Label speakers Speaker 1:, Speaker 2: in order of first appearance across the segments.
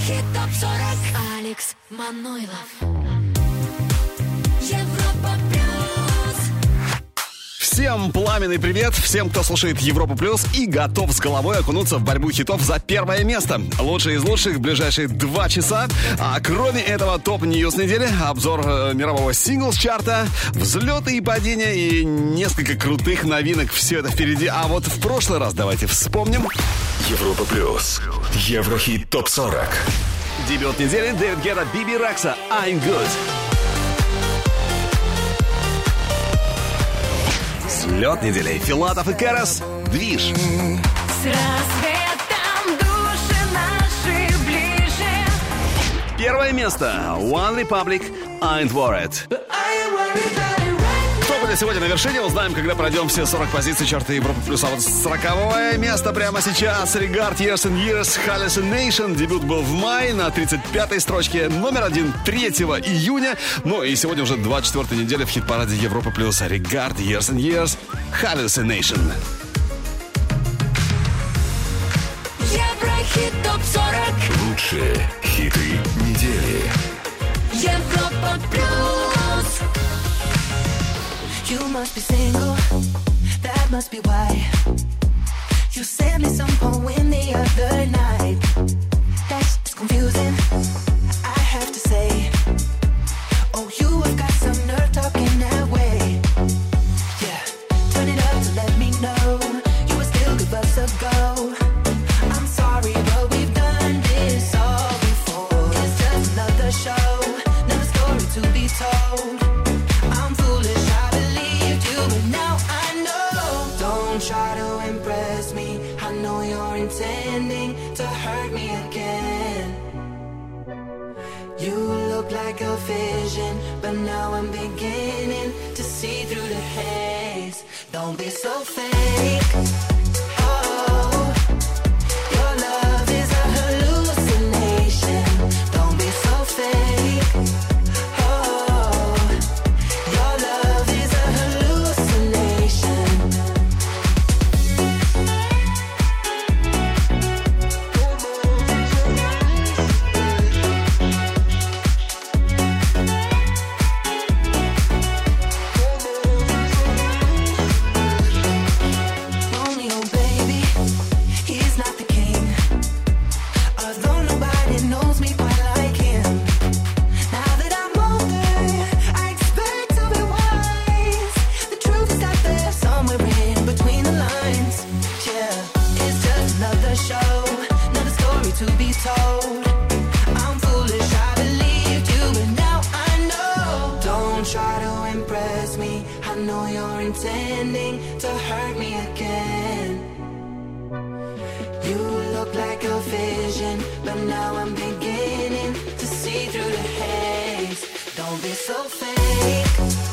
Speaker 1: Еврохит ТОП-40. Алекс Манойлов. Европа плюс.
Speaker 2: Всем пламенный привет, всем, кто слушает Европу Плюс и готов с головой окунуться в борьбу хитов за первое место. Лучшие из лучших в ближайшие 2 часа. А кроме этого, топ-ньюс недели, обзор мирового синглс-чарта, взлеты и падения и несколько крутых новинок. Все это впереди. А вот в прошлый раз давайте вспомним.
Speaker 3: Европа Плюс. Еврохит ТОП-40.
Speaker 2: Дебют недели: Дэвид Гетта, Биби Рекса, I'm Good. Взлет недели: Филатов и Кэрос, Движ.
Speaker 1: С рассветом души наши ближе.
Speaker 2: Первое место: One Republic, Ain't Worried. Кто будет сегодня на вершине, узнаем, когда пройдем все 40 позиций чарта Европа Плюс. А вот 40-е место прямо сейчас. Regard Years and Years, Hallucination. Дебют был в мае на 35-й строчке. Номер 1 3 июня. Ну и сегодня уже 24-я неделя в хит-параде Европа Плюс. Regard Years and Years, Hallucination.
Speaker 1: Еврохит ТОП-40.
Speaker 3: Лучшие хиты недели.
Speaker 1: Европа плюс.
Speaker 4: You must be single, that must be why you sent me some poem the other night. That's confusing, I have to say. Oh, you have got some nerve talking that way. Yeah, turn it up to let me know you would still give us a go. I'm sorry, but we've done this all before. It's just another show, another story to be told. I'm foolish, I believed you, but now I know. Don't try to impress me, I know you're intending to hurt me again. You look like a vision, but now I'm beginning to see through the haze. Don't be so fake. Oh, your love is a hallucination. Don't be so fake. Intending to hurt me again. You look like a vision, but now I'm beginning to see through the haze. Don't be so fake.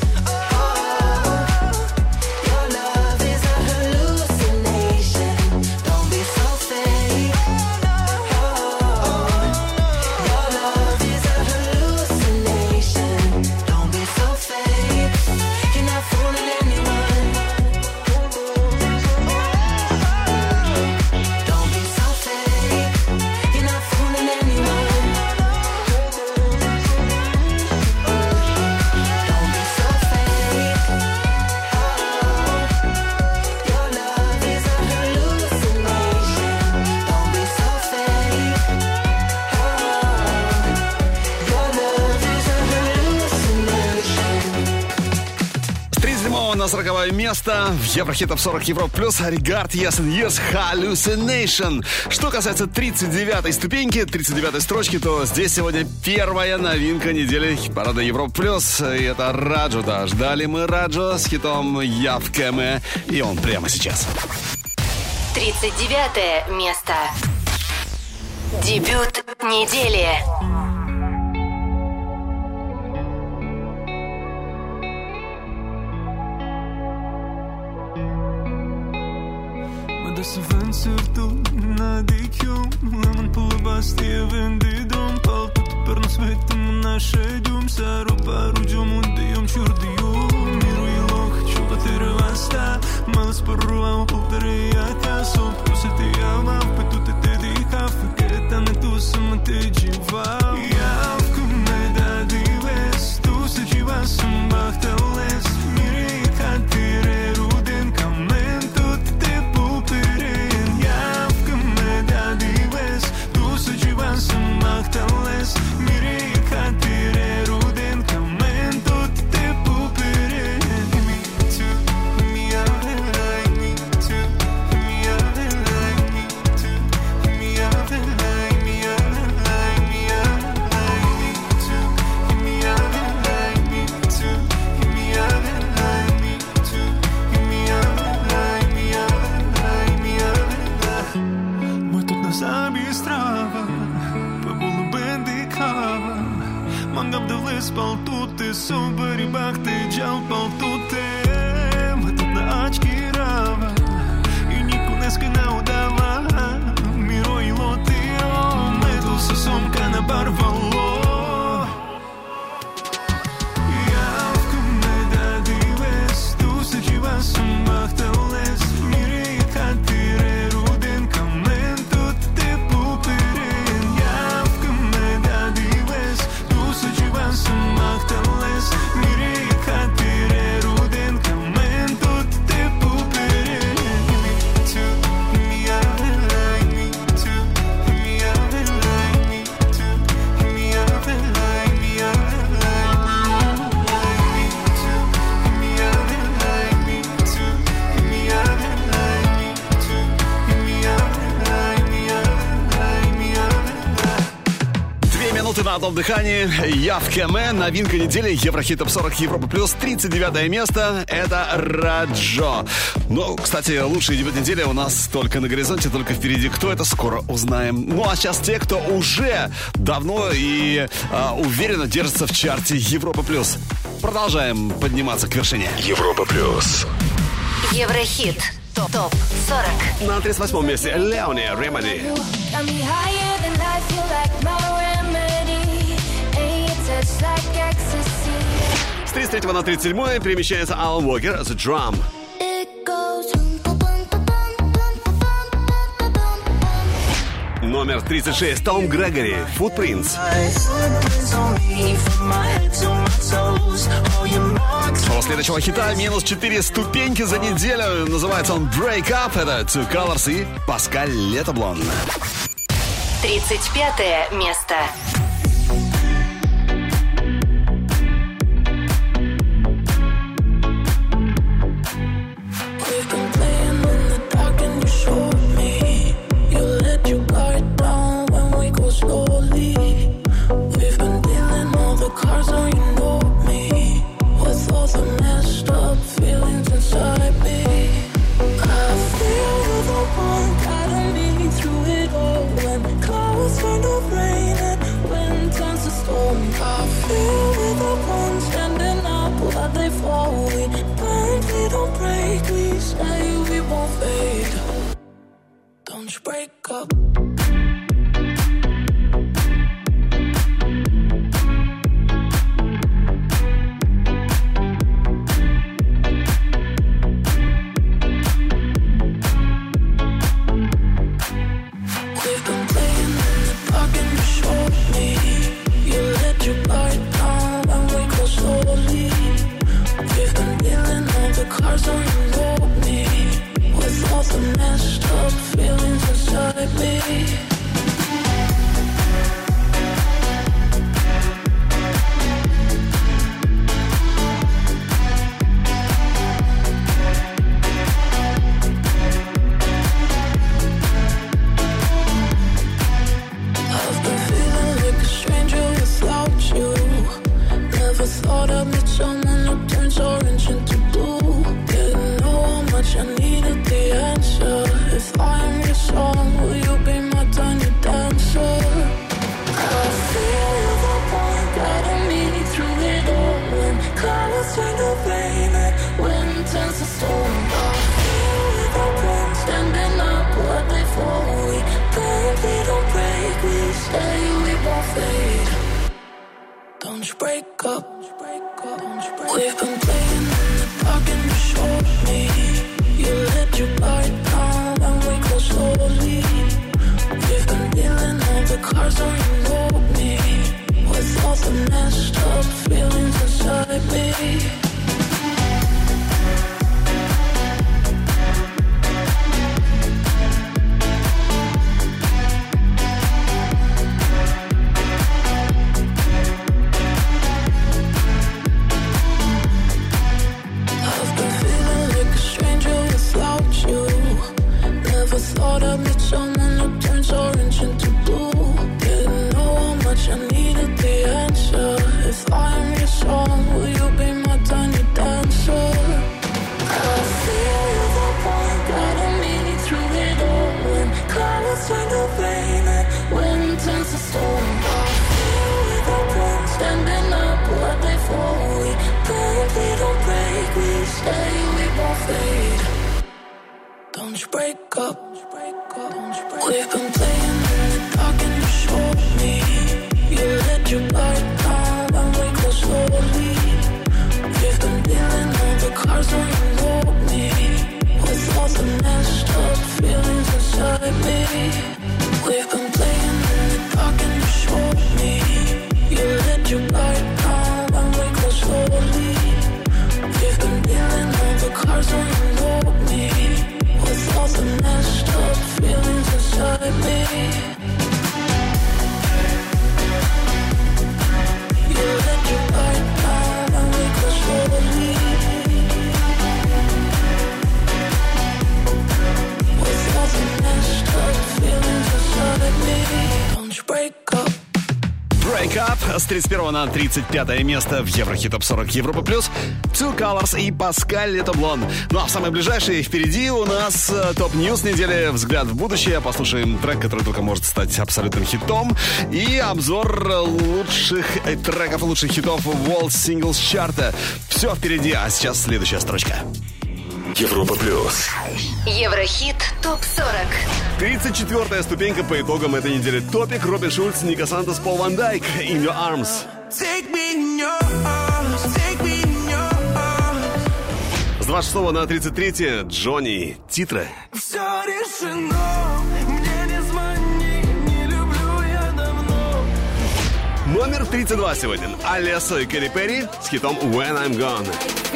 Speaker 2: На 40-е место в Еврохит ТОП-40 Европа Плюс Regard Years and Years, Hallucination. Что касается 39-й ступеньки, 39-й строчки, то здесь сегодня первая новинка недели хит-парада Европа Плюс. И это Раджу, да. Ждали мы Раджу с хитом «Я в Кэме», и он прямо сейчас.
Speaker 5: 39-е место. Дебют недели.
Speaker 6: Să vând surtul na dikjum Lemon pull basti vendi drum Palput per nos vetim naše djum Saro paru djum undijum čurdijum Miru I loh čuva tere vasta Malas porruam pulterijatja Sol puseti ama Petu te te di kafe Keta ne tu sam te djim sabi strava Pabulu bendi kava Mangap devlis paltute Sobari bakte Jal paltute Matut na очки rava И нику неска не удава Миро и лотио Metu sa somka na barvalo
Speaker 2: На одном дыхании Явкеме, новинка недели, Еврохит Топ 40 Европа Плюс, 39 место, это Раджо. Ну, кстати, лучший дебют недели у нас только на горизонте, только впереди. Кто это, скоро узнаем. Ну, а сейчас те, кто уже давно и уверенно держится в чарте Европа Плюс. Продолжаем подниматься к вершине.
Speaker 3: Европа Плюс.
Speaker 5: Еврохит Топ 40.
Speaker 2: На 38 месте Леони Ремеди. С 33 на 37 перемещается Алан Уокер The Drum. Номер 36 Том Грегори Footprints. У следующего хита минус 4 ступеньки за неделю. Называется он Break Up. Это Two Colors и Паскаль Летоблон.
Speaker 5: 35 место.
Speaker 7: I needed the answer. If I'm your song, will you be my time?
Speaker 4: you break up. We've been playing in the dark and you showed me. You let your light down and we go slowly. We've been dealing all the cards on you load me. With all the messed up feelings inside me. We've been playing in the dark and you showed me. You let your light down and we go slowly. We've been dealing all the cards on you load me. With all the messed up feelings inside me. You let your light down and we go slowly. With all the messed up feelings inside me. Don't you break up.
Speaker 2: Break Up с 31 на 35 место в Еврохит Топ 40 Европа Плюс. Two Colors и Паскаль Лето-Блон. Ну а в самое ближайшее впереди у нас топ Ньюс недели, взгляд в будущее. Послушаем трек, который только может стать абсолютным хитом. И обзор лучших треков, лучших хитов World Singles Chart. Все впереди, а сейчас следующая строчка.
Speaker 3: Европа Плюс.
Speaker 5: Еврохит ТОП-40.
Speaker 2: 34-я ступенька по итогам этой недели. Топик, Робин Шульц, Ника Сантос, Пол Ван Дайк, In Your Arms.
Speaker 6: Take me in your arms, take me in your arms.
Speaker 2: С 26 на 33 Джонни, Титры.
Speaker 6: Все решено, мне не звони, не люблю я давно.
Speaker 2: Номер 32 сегодня. Алессо и Кэрри Перри с хитом When I'm Gone.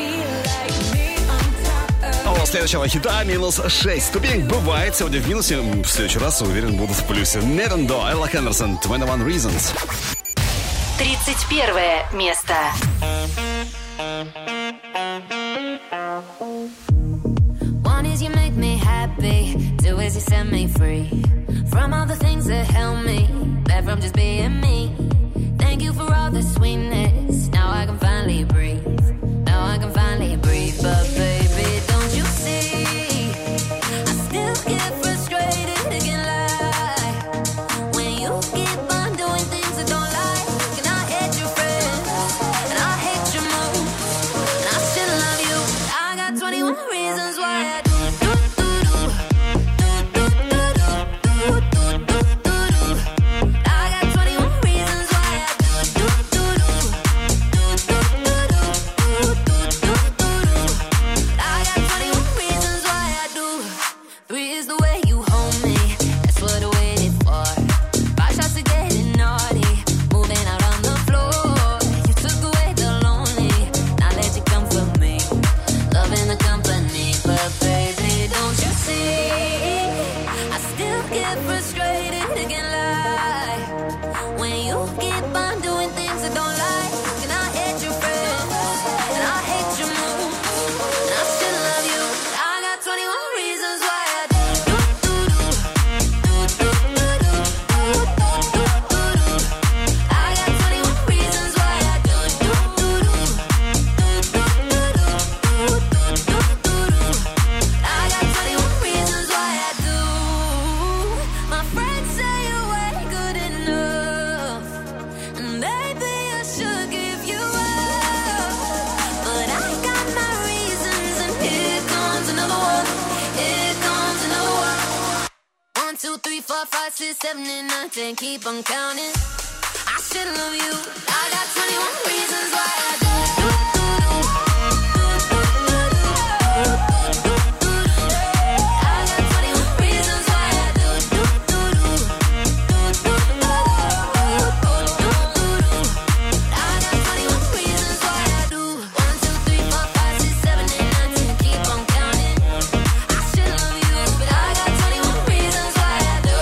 Speaker 2: А у следующего хита минус 6 ступенек. Бывает сегодня в минусе. В следующий раз, уверен, будут в плюсе. Нетандо, Элла Хендерсон, 21 Reasons.
Speaker 5: 31 место.
Speaker 1: One is you make me happy, two is you set me free from all the things that held me back from just being me. Thank you for all the sweetness. Now I can finally breathe. Now I can finally breathe. But baby, don't you see? I still get frustrated, I can't lie. When you keep on doing things I don't like, and I hate your friends, and I hate your moves, and I still love you. I got 21 reasons why I do. I got 21 reasons why I do. I got 21 reasons why I do. 3 is the way you hold me. That's what I waited for. 5 shots of getting naughty, moving out on the floor. You took away the lonely, now let you come for me. Loving the company, but baby, don't you see? I still get frustrated, I can't lie. When you keep on doing things I don't like, and I hate your friends, and I hate your moves, and I still love you. I got 21 reasons why I do. I got 21 reasons why I do. I got 21 reasons why I do. My friends say you ain't good enough, and maybe I should give you up. But I got my reasons, and here comes another one. Here comes another one. 1, 2, 3, 4, 5, 6, 7, and 9, 10. Keep on counting. I should love you. I got 21 reasons why I do. I got 21 reasons why I do. I got 21 reasons why I do. 1, 2, 3, 4, 5, 6, 7, and 9, 10. Keep on counting. I should love you, but I got 21 reasons why I do.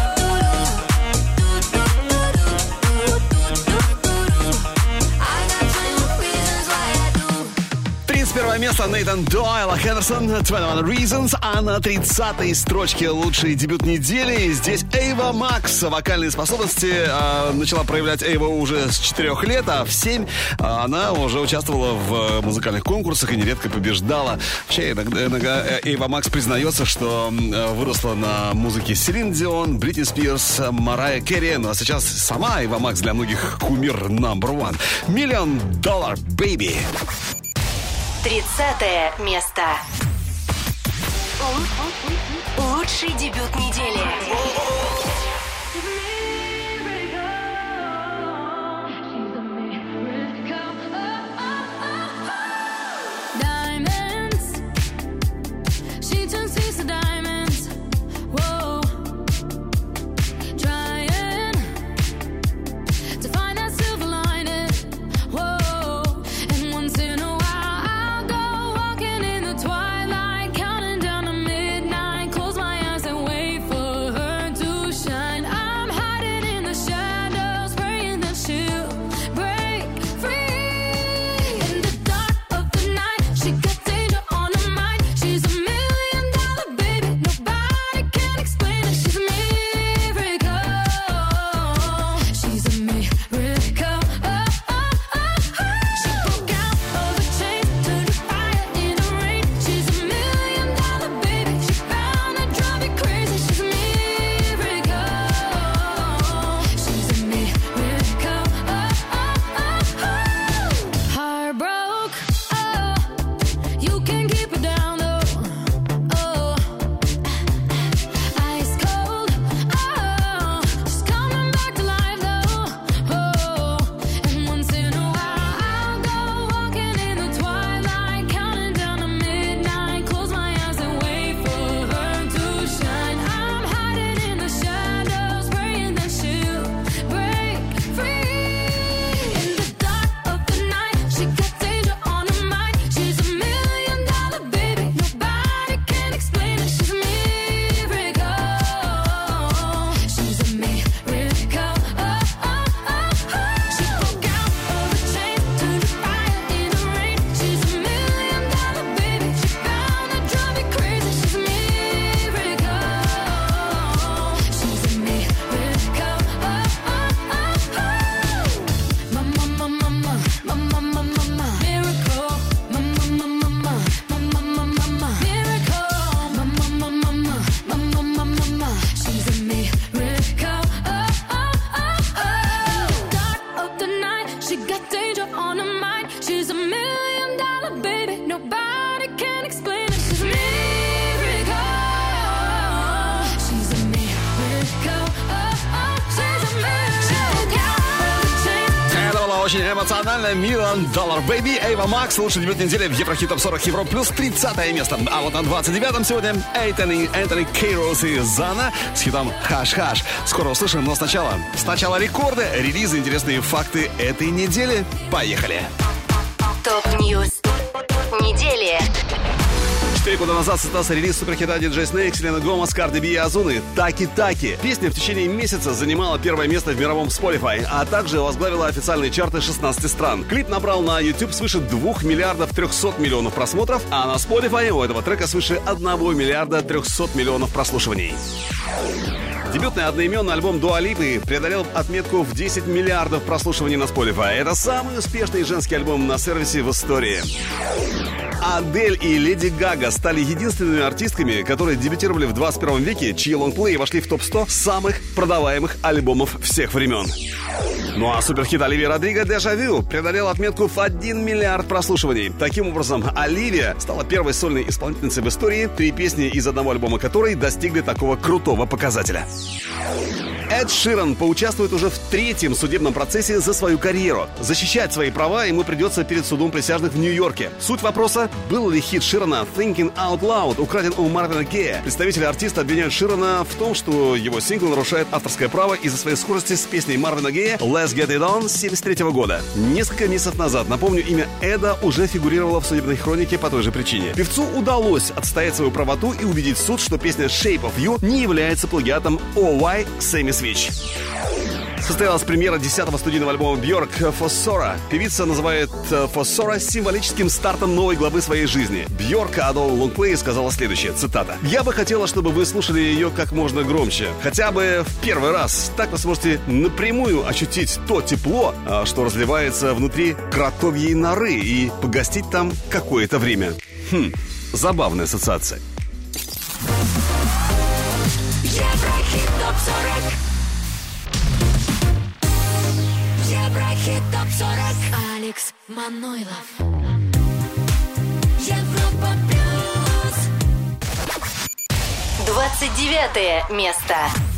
Speaker 1: I got 21 reasons why I do.
Speaker 2: 31 место Нейтан Дойл, Хендерсон, 21 Reasons. А на 30-й строчке лучший дебют недели здесь Эйва Макс. Вокальные способности начала проявлять Эйва уже с 4 лет, а в 7 она уже участвовала в музыкальных конкурсах и нередко побеждала. Вообще, иногда Эйва Макс признается, что выросла на музыке Селин Дион, Бритни Спирс, Марайя Керри. Ну а сейчас сама Эйва Макс для многих кумир number one. $1 Million Baby.
Speaker 5: 30 место. Лучший дебют недели.
Speaker 2: Очень эмоционально. $1 Million Baby, Ava Max. Лучший дебют недели в Еврохит Топ 40 Европа плюс 30 место. А вот на 29-м сегодня Энтони Кейрос и Зана с хитом «Хаш-хаш». Скоро услышим, но сначала рекорды, релизы, интересные факты этой недели. Поехали!
Speaker 5: Топ-ньюс недели.
Speaker 2: 4 года назад состоялся релиз суперхита DJ Snake, Селена Гомес, Карди Би и Озуны «Таки-таки». Песня в течение месяца занимала первое место в мировом Spotify, а также возглавила официальные чарты 16 стран. Клип набрал на YouTube свыше 2 миллиардов 300 миллионов просмотров, а на Spotify у этого трека свыше 1 миллиарда 300 миллионов прослушиваний. Дебютный одноименный альбом Дуа Липы преодолел отметку в 10 миллиардов прослушиваний на Spotify. Это самый успешный женский альбом на сервисе в истории. Адель и Леди Гага стали единственными артистками, которые дебютировали в 21 веке, чьи лонгплеи вошли в топ-100 самых продаваемых альбомов всех времен. Ну а суперхит Оливии Родриго «Déjà Vu» преодолел отметку в 1 миллиард прослушиваний. Таким образом, Оливия стала первой сольной исполнительницей в истории, 3 песни из одного альбома которой достигли такого крутого показателя. Эд Ширан поучаствует уже в 3-м судебном процессе за свою карьеру. Защищать свои права ему придется перед судом присяжных в Нью-Йорке. Суть вопроса: был ли хит Ширана «Thinking Out Loud» украден у Марвина Гея? Представители артиста обвиняют Ширана в том, что его сингл нарушает авторское право из-за своей скорости с песней Марвина Гея «Let's Get It On» с 1973 года. Несколько месяцев назад, напомню, имя Эда уже фигурировало в судебной хронике по той же причине. Певцу удалось отстоять свою правоту и убедить суд, что песня «Shape of You» не является плагиатом «Oh Сэмми Свич». Состоялась премьера 10-го студийного альбома Бьорк «Fossora». Певица называет «Fossora» символическим стартом новой главы своей жизни. Бьорк о новом лонгплее сказала следующее, цитата: «Я бы хотела, чтобы вы слушали ее как можно громче. Хотя бы в первый раз. Так вы сможете напрямую ощутить то тепло, что разливается внутри кротовьей норы, и погостить там какое-то время». Забавная ассоциация.
Speaker 1: Еврохит ТОП-40. Еврохит ТОП-40. Алекс Манойлов. Европа плюс.
Speaker 5: 29 место.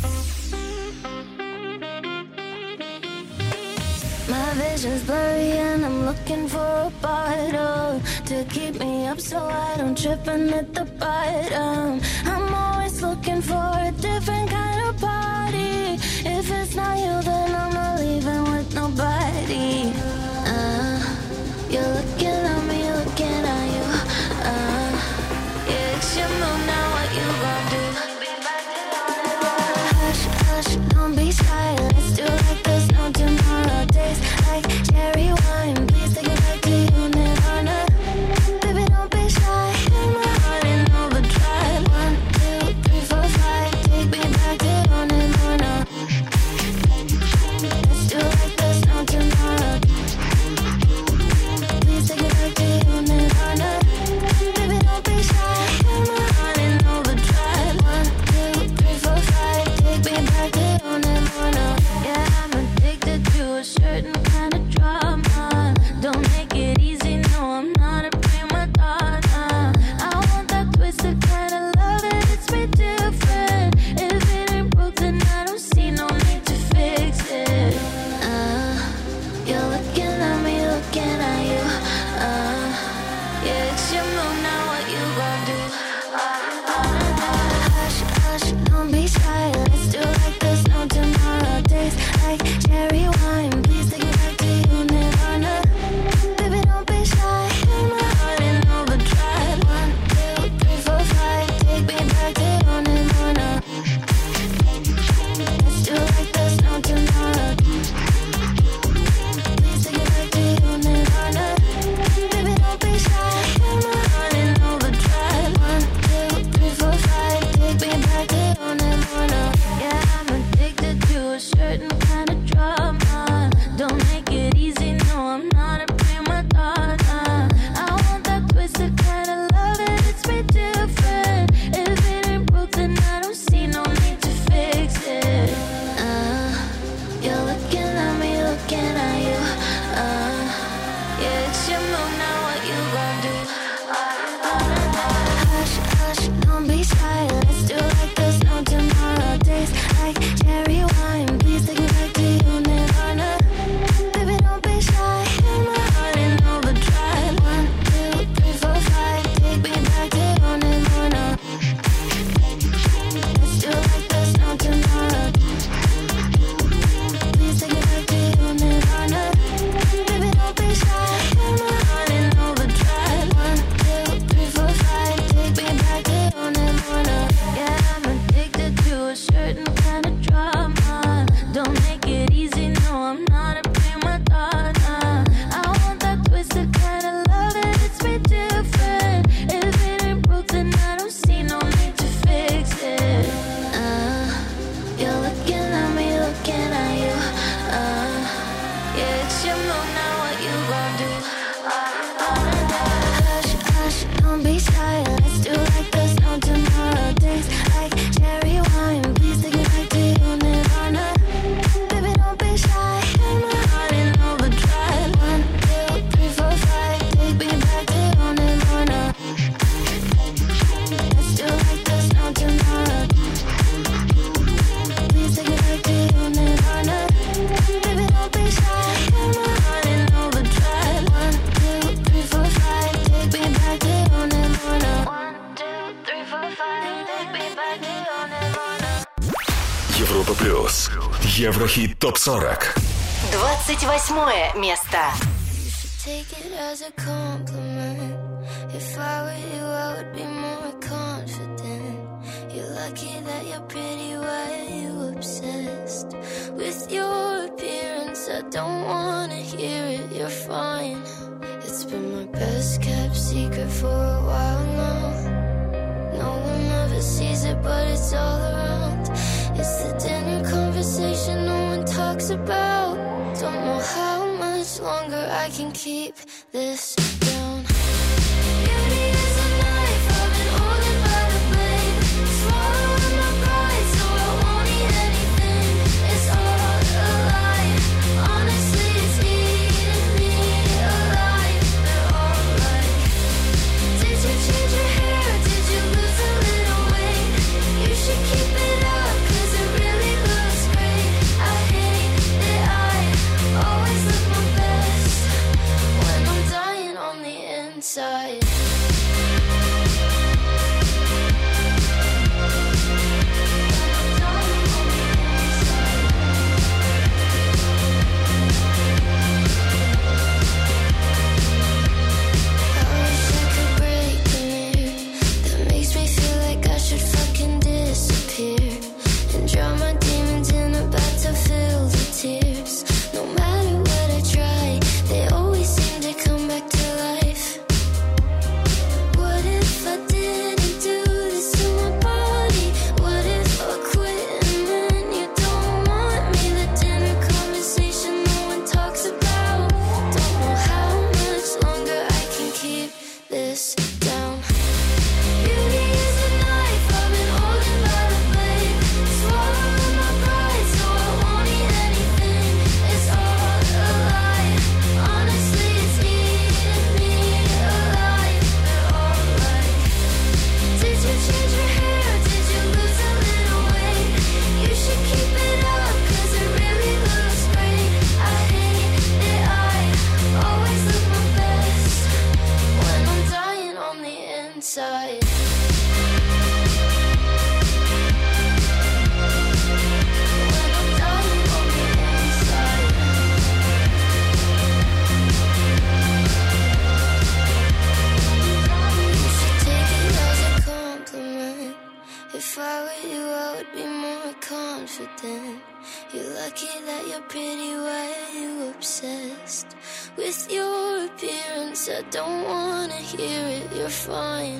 Speaker 1: My vision's blurry and I'm looking for a bottle to keep me up so I don't trip and hit the bottom. I'm always looking for a different kind of party. If it's not you, then I'm not leaving with nobody. You're looking at me, looking at you. Yeah, it's your move now, what you gon' do? Hush, hush, don't be shy. Let's do like there's no tomorrow. Days like cherry wine. Please take it back to you, Nirvana. Baby, don't be shy. In my heart in overdrive. 1, 2, 3, 4, 5. Take me back to you, Nirvana. Let's do like there's no tomorrow. Please take it back to you, Nirvana. Baby, don't be shy. In my heart in overdrive. 1, 2, 3, 4, 5. Take me back to you, Nirvana. Yeah, I'm addicted to a certain kind of drama. Don't make it easy, no, I'm not a prima donna. I want that twisted kind of love and it's me different. If it ain't broke, then I don't see no need to fix it. You're looking at me, looking at you. Yeah, it's your move now, what you gon' do? Hush, hush, don't be shy. Let's do like there's no tomorrow. Days like cherry wine. Please take it back to you, Nirvana. Baby, don't be shy. In my heart in overdrive. 1, 2, 3, 4, 5. Take me back to you, Nirvana. Let's do like there's no tomorrow. Please take it back to you, Nirvana. Baby, don't be shy. In my heart in overdrive. 1, 2, 3, 4, 5. Take me back to you, Nirvana. Yeah, I'm addicted to a certain kind of drama. Don't make it easy, no, I'm not a prima donna. I want that twisted kind of love and it's me different. If it ain't broke, then I don't see no need to fix it. You're looking at me, looking at you. Yeah, it's your move now, what you gon' do? Hush, hush, don't be shy. Let's do like there's no tomorrow. Days like cherry wine. Please take me back to you, Nirvana. Baby, don't be shy. In my heart in overdrive. 1, 2, 3, 4, 5. Take me back to you, Nirvana. Let's do like there's no tomorrow. Please take me back to you, Nirvana. Baby, don't be shy. In my heart in overdrive. 1, 2, 3, 4, 5. Take me back to you, Nirvana. Yeah, I'm addicted to a certain kind of drama. Don't make it easy, no, I'm not a prima donna. I want that twisted kind of love and it's me different. If it ain't broke, then I don't see no need to fix it. You're looking at me, looking at you. Yeah, it's your move now, what you gon' do? Hush, hush, don't be shy. Let's do like there's no tomorrow. Days like cherry wine. Please take me back to you, Nirvana. Baby, don't be shy. In my heart in overdrive. 1, 2, 3, 4, 5. Take me back to you, Nirvana. Let's do like there's no tomorrow. Please take me back to you, Nirvana. Baby, don't be shy. In my heart in overdrive. 1, 2, 3, 4, 5. Take me back to you, Nirvana. 1, 2, 3, 4, 5. Take me back to you, Nirvana.
Speaker 3: Европа плюс. Еврохит ТОП-40.
Speaker 5: 28 место.
Speaker 1: Take it as a compliment. If I were you, I would be more confident. You're lucky that you're pretty, why are you obsessed with your appearance? I don't wanna hear it, you're fine. It's been my best kept secret for a while now. No one ever sees it, but it's all around. It's the dinner conversation no one talks about. Don't know how much longer I can keep this down. Beauty is a knife, I've been holding by the blade. Swallowing my pride, so I won't eat anything. It's all a lie. Honestly, it's eating me alive. They're all like, did you change your hair? Did you lose a little weight? You should You're lucky that you're pretty, why are you obsessed with your appearance? I don't wanna hear it, you're fine.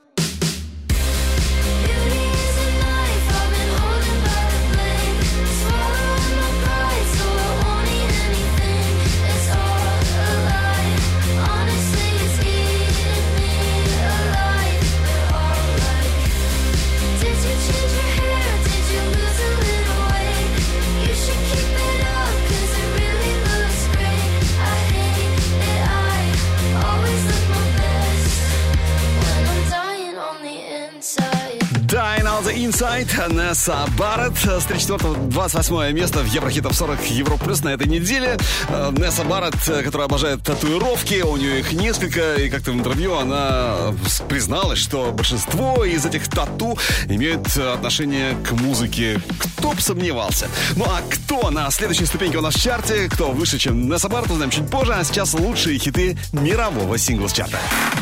Speaker 1: Beauty is a knife I've been holding by the blade. Swallowing my pride so I won't eat anything. It's all a lie. Honestly, it's eating me alive. They're all like, did you change your hair? Did you lose a little weight? You should keep it up, 'cause it really looks great. I hate it, I always look my best when I'm dying on the inside.
Speaker 2: Dying on the Inside, Несса Барретт. С 34-го 28 место в Еврохитов 40 Европа Плюс на этой неделе. Несса Барретт, которая обожает татуировки, у нее их несколько, и как-то в интервью она призналась, что большинство из этих тату имеют отношение к музыке. Кто бы сомневался. Ну а кто на следующей ступеньке у нас в чарте, кто выше, чем Несса Барретт, узнаем чуть позже. А сейчас лучшие хиты мирового синглс-чарта.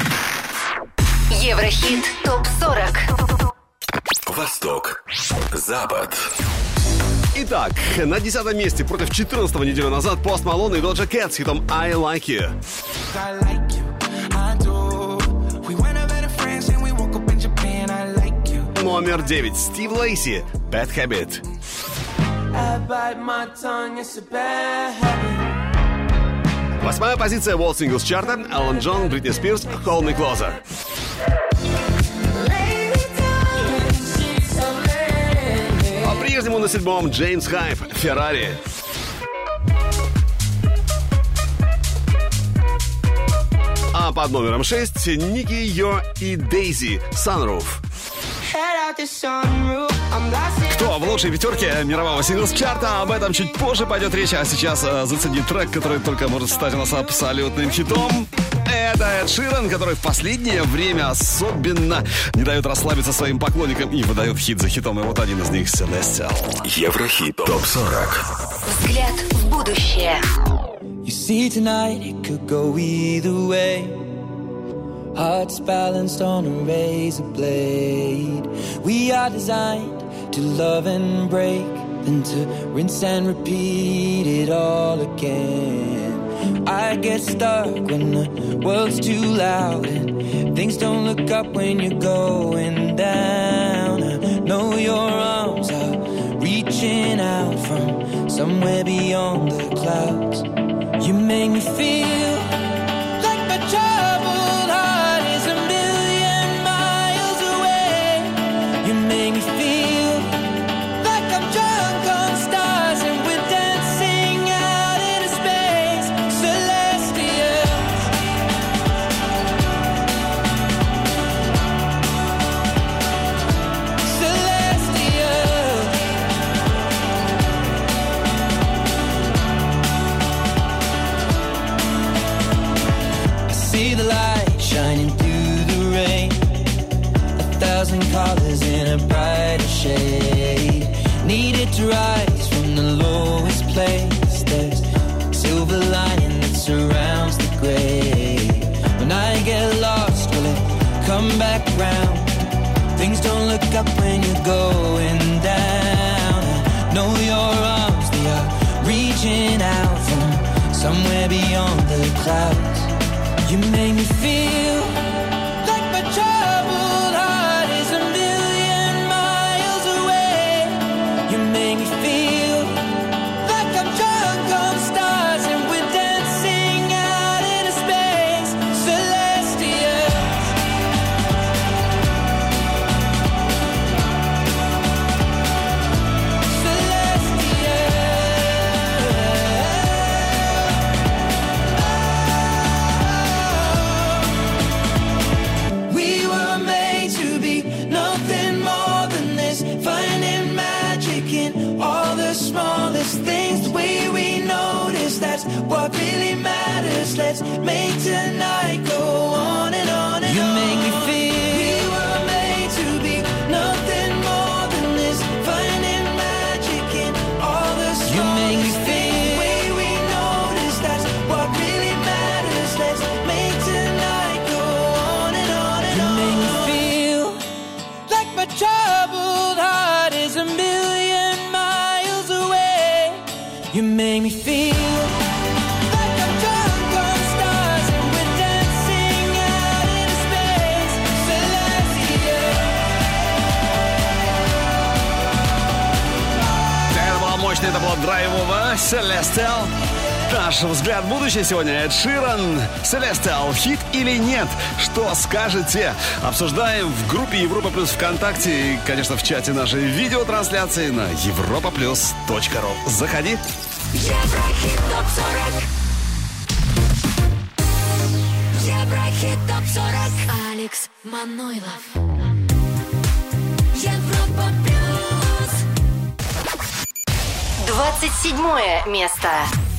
Speaker 5: Еврохит ТОП-40.
Speaker 3: Восток, Запад.
Speaker 2: Итак, на 10 месте против 14-го неделю назад Пост Малон и Доджа Кэт с хитом I Like You.
Speaker 6: I like you, I do. We went over to France and we woke up in Japan. I like you.
Speaker 2: Номер 9. Стив Лейси, Bad Habit.
Speaker 6: I bite my tongue, it's a bad habit.
Speaker 2: 8-я позиция World Singles чарта. Эллен Джон, Бритни Спирс, Hold Me Closer. По-прежнему на 7-м Джеймс Хайп, Феррари. А под номером 6 Ники Йо и Дейзи, Sunroof. Кто в лучшей пятерке мирового синглс-чарта? Об этом чуть позже пойдет речь. А сейчас зацени трек, который только может стать у нас абсолютным хитом. Это Эд Ширан, который в последнее время особенно не дает расслабиться своим поклонникам и выдает хит за хитом. И вот один из них — Celestial.
Speaker 3: Еврохит ТОП-40.
Speaker 5: Взгляд в будущее.
Speaker 7: You see tonight it could go either way. Hearts balanced on a razor blade. We are designed to love and break, then to rinse and repeat it all again. I get stuck when the world's too loud and things don't look up when you're going down. I know your arms are reaching out from somewhere beyond the clouds. You make me feel like my troubled heart is a million miles away. You make me feel like I'm drunk on stars and we're dancing out into space. Celestial. Celestial. See the light shining through the rain. 1,000 colors in a brighter shade. Needed to rise from the lowest place. There's silver lining that surrounds the gray. When I get lost, will it come back round? Things don't look up when you're going down. I know your arms, they are reaching out from somewhere beyond the clouds. You make me feel like my troubled heart is a million miles away. You make me feel like I'm drunk on stars and we're dancing out into space. Celestial. We were made to be nothing more than this. Finding magic in all the smallest things. The way we notice, that's what really matters. Let's make tonight go on and on and on. You make me feel we were made to be nothing more than this. Finding magic in all the smallest things. You make me feel the way we notice, that's what really matters. Let's make tonight go on and on and on. You make me feel like my troubled heart is a million miles away. You make me feel like I'm drunk on stars and we're dancing out in space. Celestia.
Speaker 2: Это было мощно, это было драйвово. Celestial. Наш взгляд в будущее сегодня. Эд Ширан, Celestial, хит или нет? Что скажете? Обсуждаем в группе Европа Плюс ВКонтакте и, конечно, в чате нашей видеотрансляции на europaplus.ru. Заходи.
Speaker 1: Еврохит ТОП-40. Еврохит ТОП-40. Алекс Манойлов. Европа Плюс.
Speaker 5: 27 место.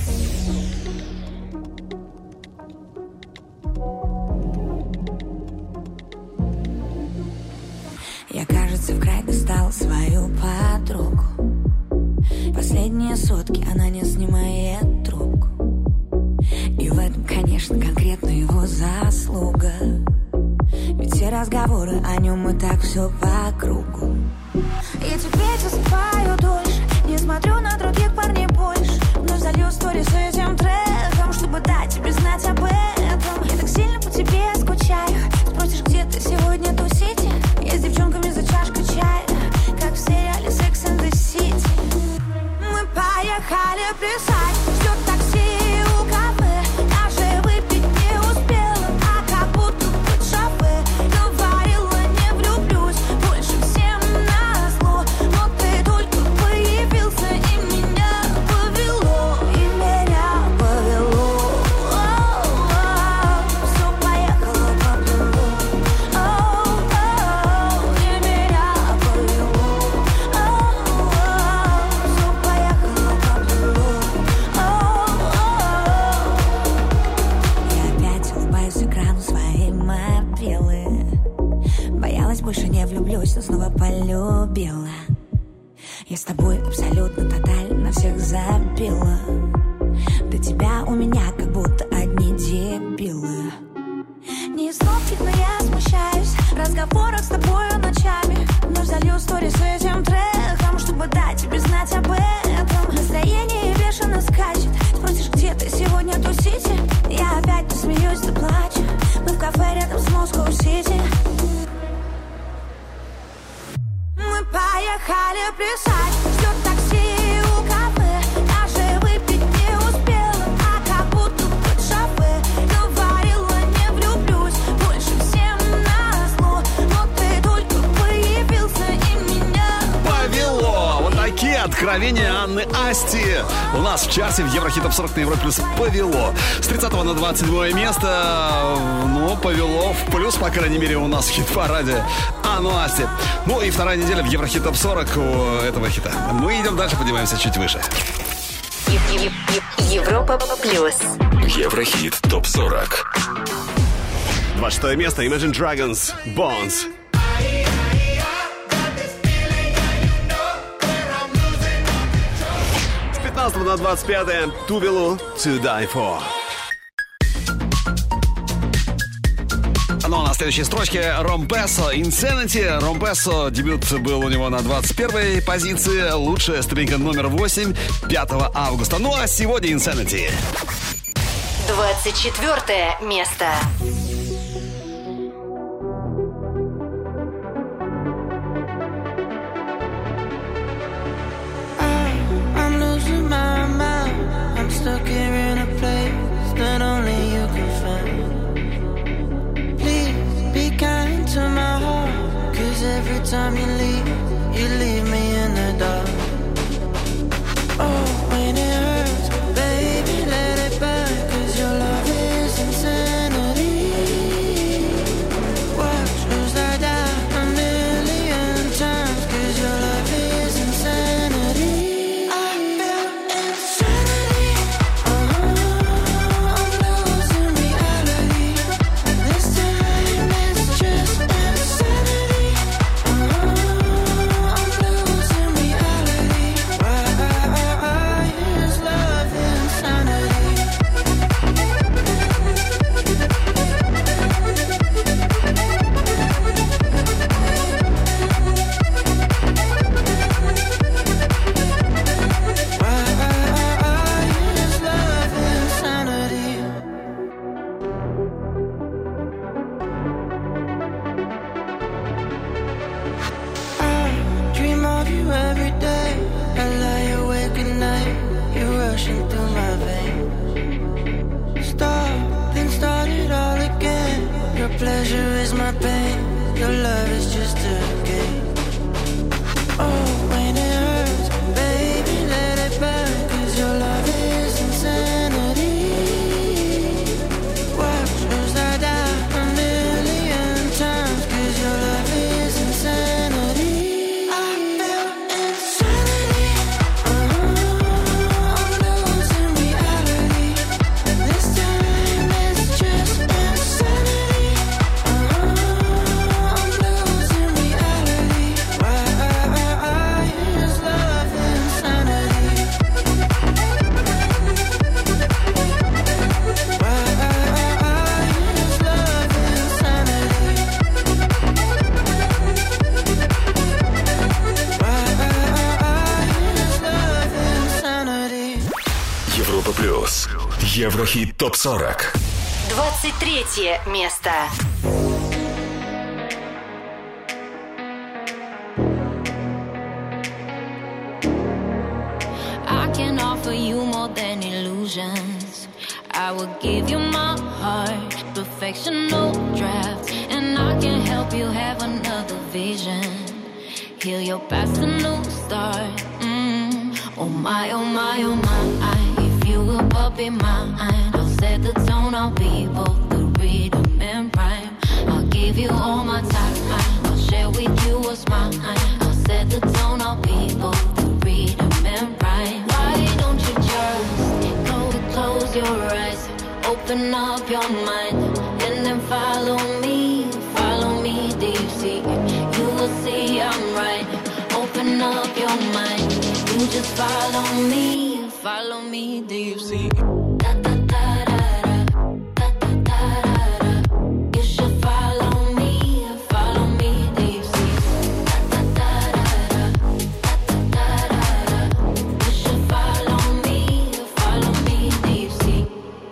Speaker 8: Я, кажется, в край достал свою подругу. Последние сутки она не снимает трубку. И в этом, конечно, конкретно его заслуга. Ведь все разговоры о нем и так все по кругу.
Speaker 9: И теперь засыпаю дольше, не смотрю на других парней больше. Вновь залью сторис с этим треком, чтобы дать тебе знать об этом. Я так сильно по тебе скучаю. Спросишь, где ты сегодня тусите? Я с девчонками за чашкой чая, как в сериале Sex and the City. Мы поехали плясать, ждет такси у кафе. Даже выпить не успела, а как будто под шофе. Говорила, не влюблюсь больше всем назло. Но ты только появился, и меня повело. И меня повело. Все поехало по плану. И меня повело. Все поехало по плану.
Speaker 8: Я опять улыбаюсь экрану своей мобилы. Боялась, больше не влюблюсь, но снова полюбила. Я с тобой абсолютно тотально всех забила. До тебя у меня как будто одни дебилы.
Speaker 9: Не из ловких, но я смущаюсь в разговорах с тобою ночами. Вновь залью сторис с этим треком, чтобы дать тебе знать об этом. Настроение бешено скачет. Спросишь, где ты сегодня тусите? Я опять то смеюсь, то плачу. Мы в кафе рядом с Москва-Сити. Мы поехали плясать, ждет такси у кафе. Даже выпить не успела, а как будто под шофе. Говорила, не влюблюсь больше всем назло. Но ты только появился, и меня
Speaker 2: Повело! Вот такие откровения Анны Асти. У нас в чарте в Еврохит ТОП-40 на Европе Плюс повело. С 30 на 27 место. Ну, повело в плюс, по крайней мере, у нас в хит-параде Анну Асти. Ну и вторая неделя в Еврохит ТОП-40 у этого хита. Мы идем дальше, поднимаемся чуть выше.
Speaker 5: Европа Плюс.
Speaker 3: Еврохит ТОП-40.
Speaker 2: 26 место Imagine Dragons Bones. С 15 на 25 Тувелу To Die For. Ну а на следующей строчке Ромпесо Insanity. Ромпесо, дебют был у него на 21-й позиции. Лучшая ступенька номер 8 5 августа. Ну а сегодня Insanity.
Speaker 5: 24 место.
Speaker 6: I'm losing my mind. I'm stuck here in a place that only you can find. Please be kind to my heart, 'cause every time you leave me in the dark. Oh, when it hurts, baby, let it burn, 'cause your love is insanity. Watch as I die a million times, 'cause your love is insanity. I feel insanity. I'm losing reality. This time it's just insanity. I'm
Speaker 7: rushing through my veins. Stop, then start it all again. Your pleasure is my pain. Your love is just a game. Oh, when it hurts, baby, let it burn. 'Cause your love is insanity. Watch as I die a million times. 'Cause your love is insanity. I feel insanity. I'm losing reality. This time it's just insanity. I'm losing reality. Why is love insanity? Why is love insanity? Why is love insanity?
Speaker 3: Европа плюс. Еврохит ТОП-40.
Speaker 5: 23 место.
Speaker 9: I can offer you more than illusions. I will give you my heart, perfection, no draft. And I can help you have another vision. Heal your past, a new start. Oh my, oh my, oh my. If you will but be mine, I'll set the tone, I'll be both the rhythm and rhyme. I'll give you all my time, I'll share with you what's mine. I'll set the tone, I'll be both the rhythm and rhyme. Why don't you just close your eyes, open up your mind, and then follow me deep sea. You will see I'm right. Open up your mind, you just follow me deep sea. Da da da da da, da da da da. You should follow me deep sea. Da da da da da, da da da da. You should follow me deep sea.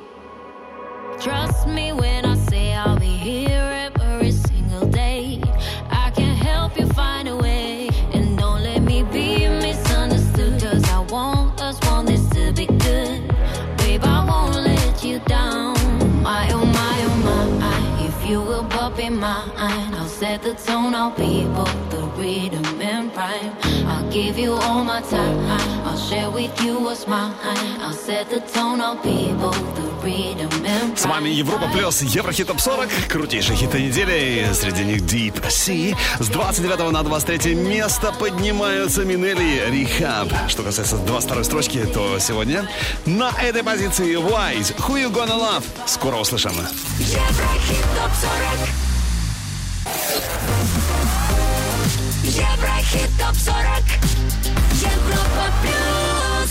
Speaker 9: Trust me when I say I'll be here every single day. I can help you find a way, and don't let me be misunderstood. 'Cause I want this to be good. Babe, I won't let you down. My, oh my, oh my. If you will but be mine, I'll set the tone, I'll be both the rhythm and rhyme. I'll give you all my time, I'll share with you what's mine. I'll set the tone, I'll be both the rhythm and rhyme.
Speaker 2: С вами Европа плюс Еврохит ТОП-40. Крутейшие хиты недели. Среди них Deep Sea. С 29 на 23 место поднимаются Минелли и Rehab. Что касается 22 строчки, то сегодня на этой позиции Wise. Who You Gonna Love. Скоро услышим.
Speaker 1: Еврохит ТОП-40. Еврохит ТОП-40. Европа плюс.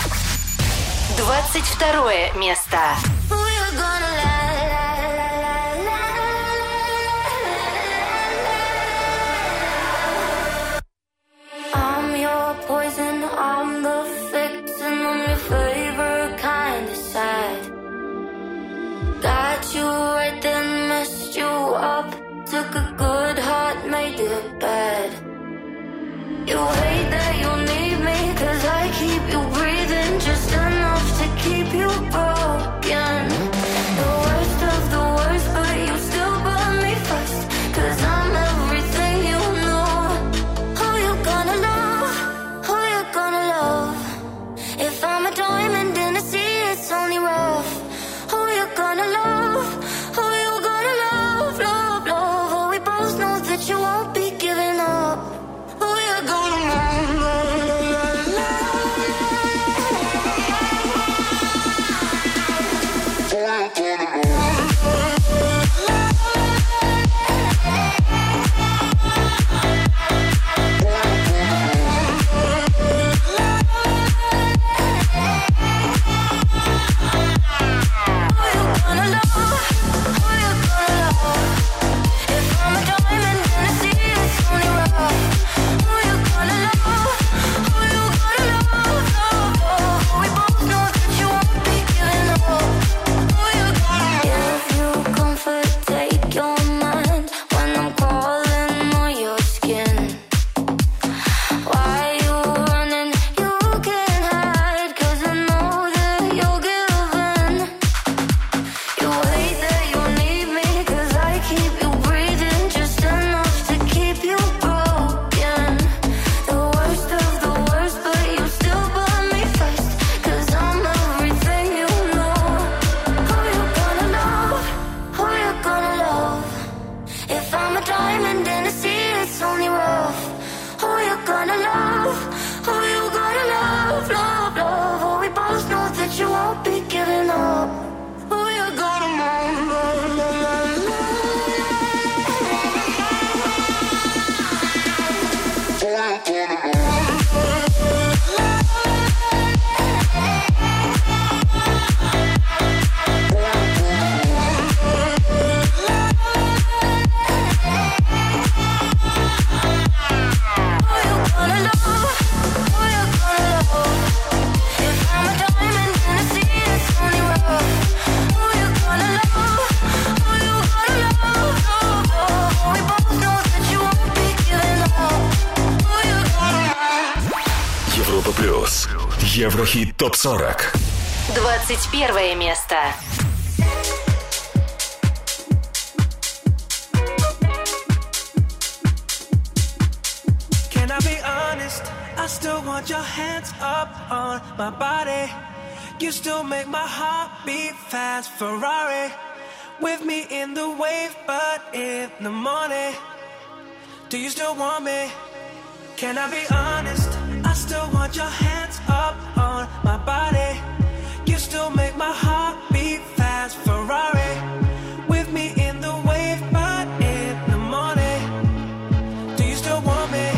Speaker 5: 22 место.
Speaker 1: Who you gonna I'm your poison, I'm the victim, I'm your favorite kind of sad. Got you right then, messed you up. Took a good heart, made it bad. You hate that you need me, 'cause I keep you breathing just enough to keep you broken. The worst of the worst, but you still burn me first, 'cause I'm everything you know. Who you gonna love? Who you gonna love? If I'm a diamond in the sea, it's only rough. Who you gonna love? Who you gonna love? Love, love. Oh, we both know that you won't be giving up. Who you gonna love?
Speaker 3: Еврохит ТОП-40.
Speaker 5: 21 место.
Speaker 6: Can I be honest? I still want your hands up on my body. You still make my heart beat fast. Ferrari with me in the wave, but in the morning. Do you still want me? Can I be honest? I still want your hands up on my body. You still make my heart beat fast. Ferrari with me in the wave, but in the morning. Do you still want me?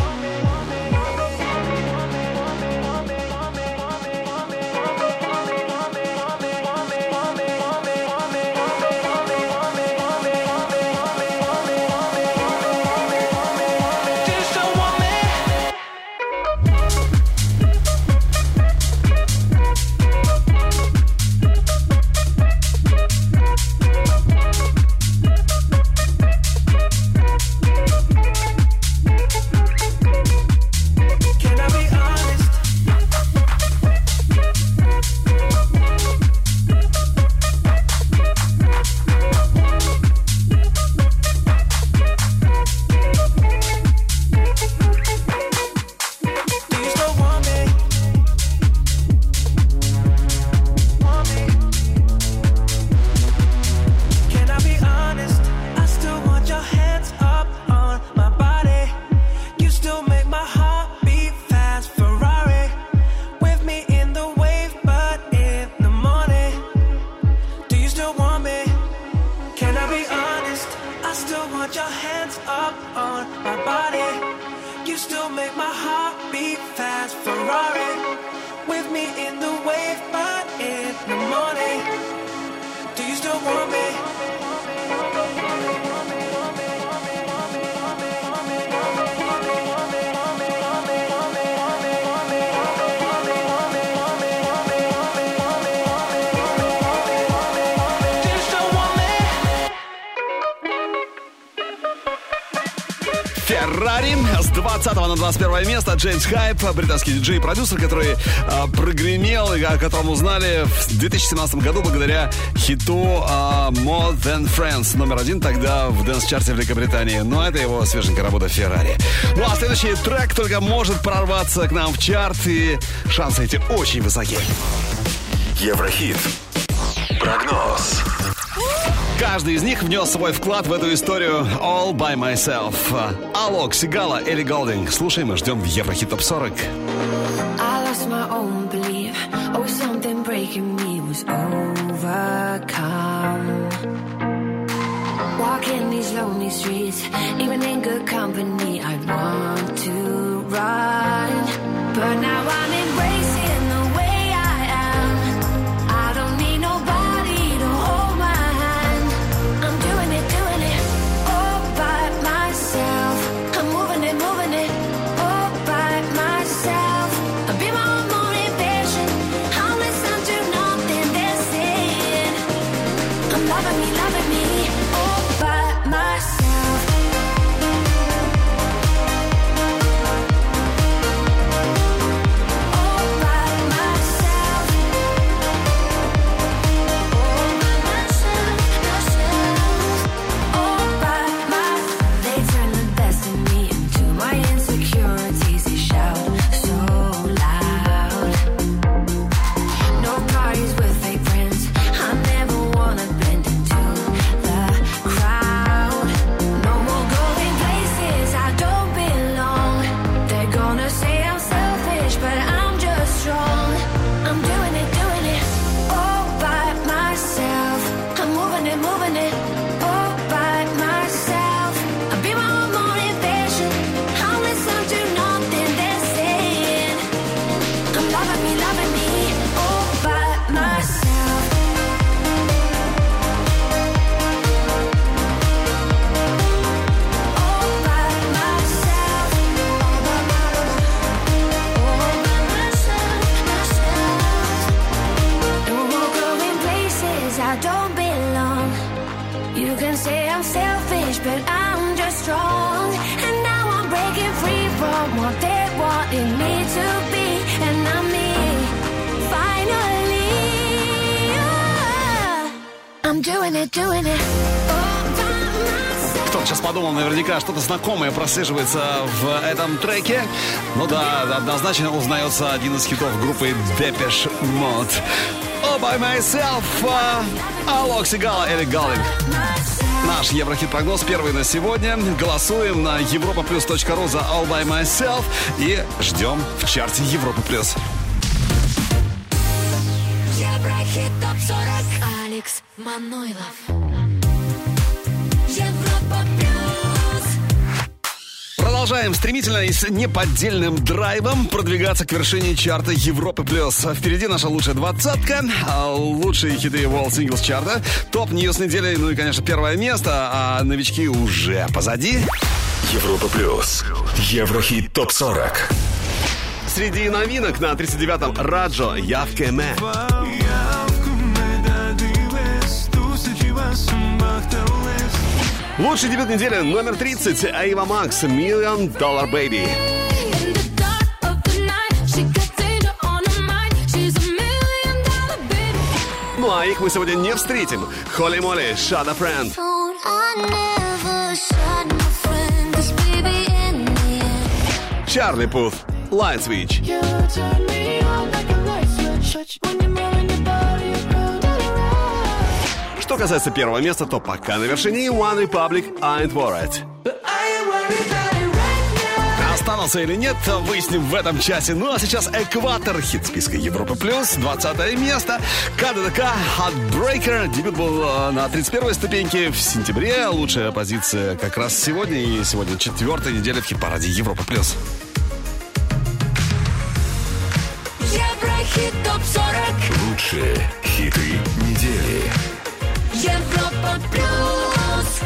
Speaker 2: Феррари с 20 на 21 место. Джеймс Хайп, британский диджей и продюсер, который прогремел и о котором узнали в 2017 году благодаря хиту More Than Friends, номер 1 тогда в дэнс-чарте Великобритании. Но это его свеженькая работа Феррари. Ну а следующий трек только может прорваться к нам в чарт, и шансы эти очень высоки.
Speaker 3: Еврохит. Прогноз.
Speaker 2: Каждый из них внес свой вклад в эту историю All By Myself. Алок, Сигала, Элли Голдинг. Слушаем и ждем в Еврохит ТОП-40.
Speaker 9: I lost my own belief. Oh, something breaking me was overcome. Walking these lonely streets, even in good company, I want to run. But now I'm embracing the way I am. I don't need nobody to hold my hand. I'm doing it all by myself. I'm moving it all by myself. I'll be my own motivation. I'll listen to nothing they're saying. I'm loving me all by myself. All by myself. All by myself. They turn the best in me into my insecurities. They shout so loud. No parties with fake friends. I never wanna blend into the crowd. No more going places I don't belong. They're gonna say I'm selfish, but I'm just strong. I'm doing it all by myself. I'm moving it all by myself. I'll be my own motivation. I'll listen to nothing they're saying. I'm loving me all by myself. All by myself. All by myself. No more going places I don't belong. You can say I'm selfish, but I'm just strong. And now I'm breaking free from what they wanted me to be. And I'm me. I'm doing it, doing it.
Speaker 2: Кто-то сейчас подумал, наверняка что-то знакомое прослеживается в этом треке. Ну да, однозначно узнается один из хитов группы Depeche Mode. All by myself. Алок Сигала, Эрик Галлинг. Наш Еврохит-прогноз первый на сегодня. Голосуем на europaplus.ru за All by myself и ждем в чарте Европа Плюс.
Speaker 1: Еврохит ТОП-40. Алекс Манойлов. Европа Плюс.
Speaker 2: Продолжаем стремительно и с неподдельным драйвом продвигаться к вершине чарта Европы Плюс. Впереди наша лучшая двадцатка, лучшие хиты World Singles чарта, топ-ньюс недели, ну и, конечно, первое место, а новички уже позади.
Speaker 3: Европа Плюс. Еврохит ТОП-40.
Speaker 2: Среди новинок на 39-м Раджо Явкеме. Лучший дебют недели номер 30 Ava Max Million Dollar Baby. Ну а их мы сегодня не встретим. Holy Moly, Shut a Friend. Чарли Пут, Light Switch. Что касается первого места, то пока на вершине One Republic, I Ain't Worried. Останутся или нет, выясним в этом часе. Ну а сейчас экватор, хит списка Европы Плюс, 20 место. КДДК, Heartbreaker. Дебют был на 31-й ступеньке в сентябре. Лучшая позиция как раз сегодня. И сегодня 4-я неделя в хит-параде Европа Плюс.
Speaker 1: Еврохит ТОП-40.
Speaker 3: Лучшие хиты недели.
Speaker 1: Европа Плюс.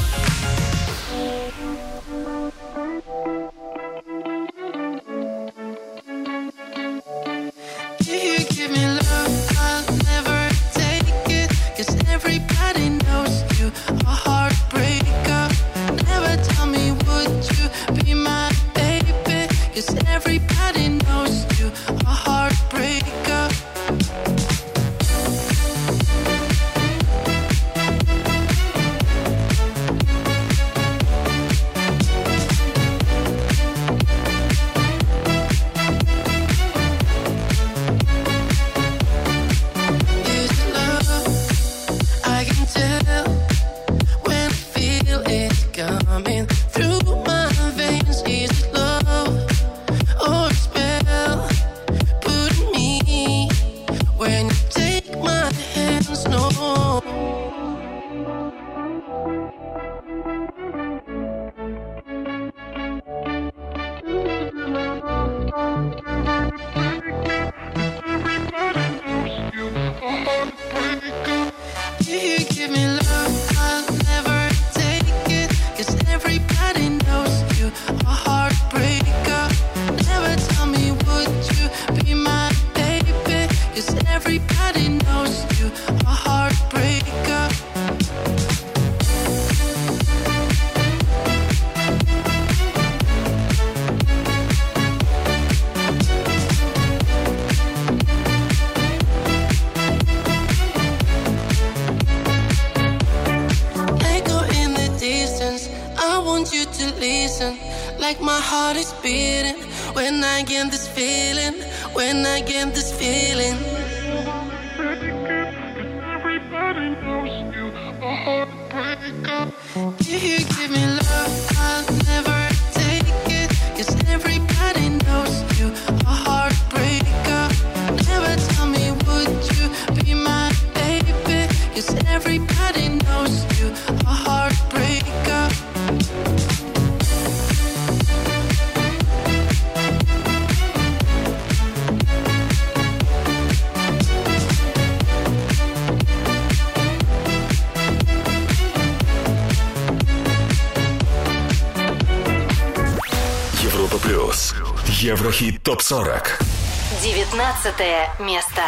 Speaker 3: Еврохит ТОП-40.
Speaker 5: 19 место.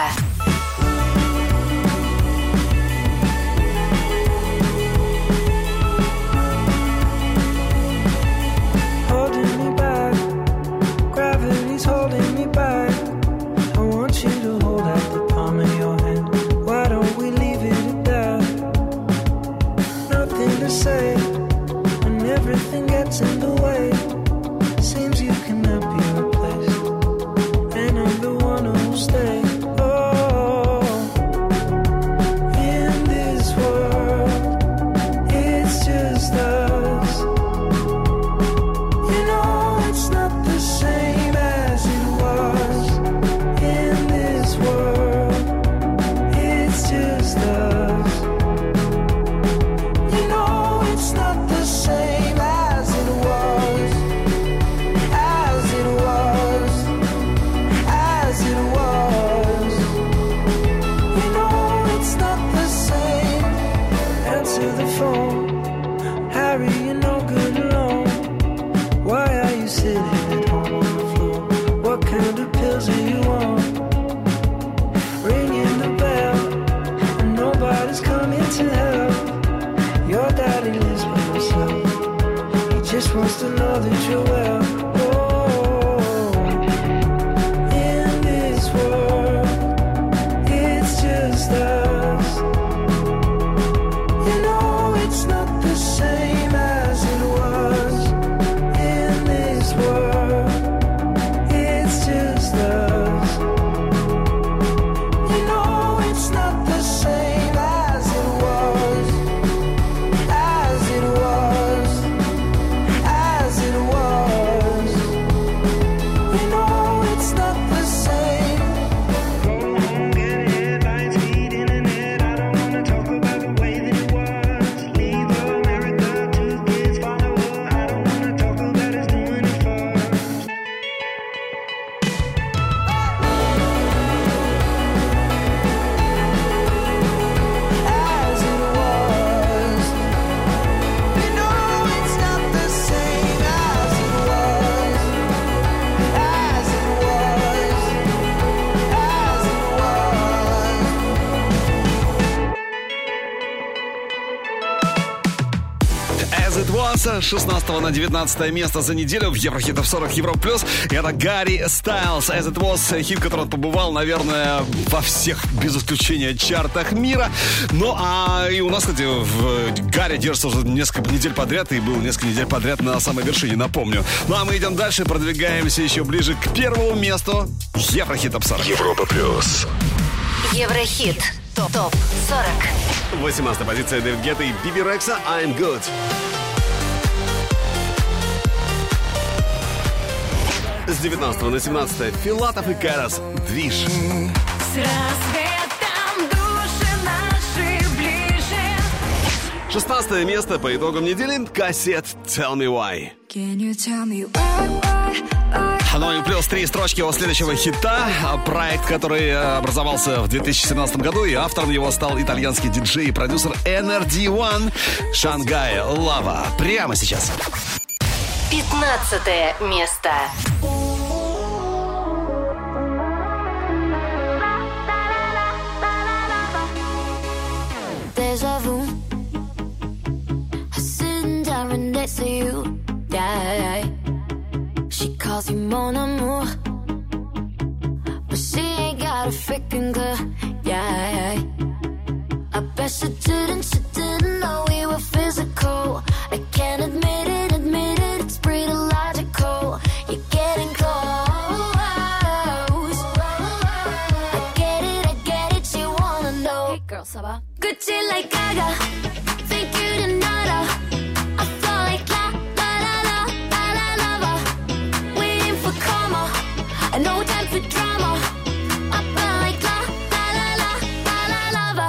Speaker 7: I want you to hold out the palm of your hand. Why don't we leave it at that?
Speaker 6: wants to know that you're well. In this world, it's just us. You know it's not the same as it was. In this world, it's just us. You know it's not the same as it was. As it was. As it was. You know it's not the same. Go home, get headlines, feed internet. I don't wanna talk about the way that it was. Leave America, 2 kids follow her. I don't wanna talk about us doing it first. As it was. You know it's not the same as it was. As it was. As it was.
Speaker 2: As It Was, с 16 на 19 место за неделю в Еврохит Топ 40 Европа Плюс. Это Гарри Стайлз. As It Was, хит, который он побывал, наверное, во всех, без исключения, чартах мира. Ну, а и у нас, кстати, в Гарри держится уже несколько недель подряд, и был несколько недель подряд на самой вершине, напомню. Ну, а мы идем дальше, продвигаемся еще ближе к первому месту Еврохит Топ 40.
Speaker 3: Европа плюс.
Speaker 5: Еврохит. Топ 40.
Speaker 2: 18-я позиция Дэвид Гетта и Биби Рекса I'm Good. С 19 на 17 Филатов и Карас Движ.
Speaker 9: С рассветом души наши ближе.
Speaker 2: 16 место по итогам недели Кассет Tell Me Why.
Speaker 9: Can you tell me why?
Speaker 2: Ну и плюс 3 строчки от следующего хита. Проект, который образовался в 2017 году, и автором его стал итальянский диджей и продюсер NRD One. Шангай Лава. Прямо сейчас.
Speaker 5: 15 место.
Speaker 1: Deja vu. I'm sitting down right next to you. Yeah. She calls you mon amour, but she ain't got a freaking clue. Yeah. I bet she didn't know we were physical. I can't admit it, it's pretty logical. You're getting close. I get it, you wanna know. Hey girl, ça va? Gucci like Gaga, think you didn't know. I feel like la la la la la la la. Waiting for karma, and no time for drama. I feel like la la la la la la la la.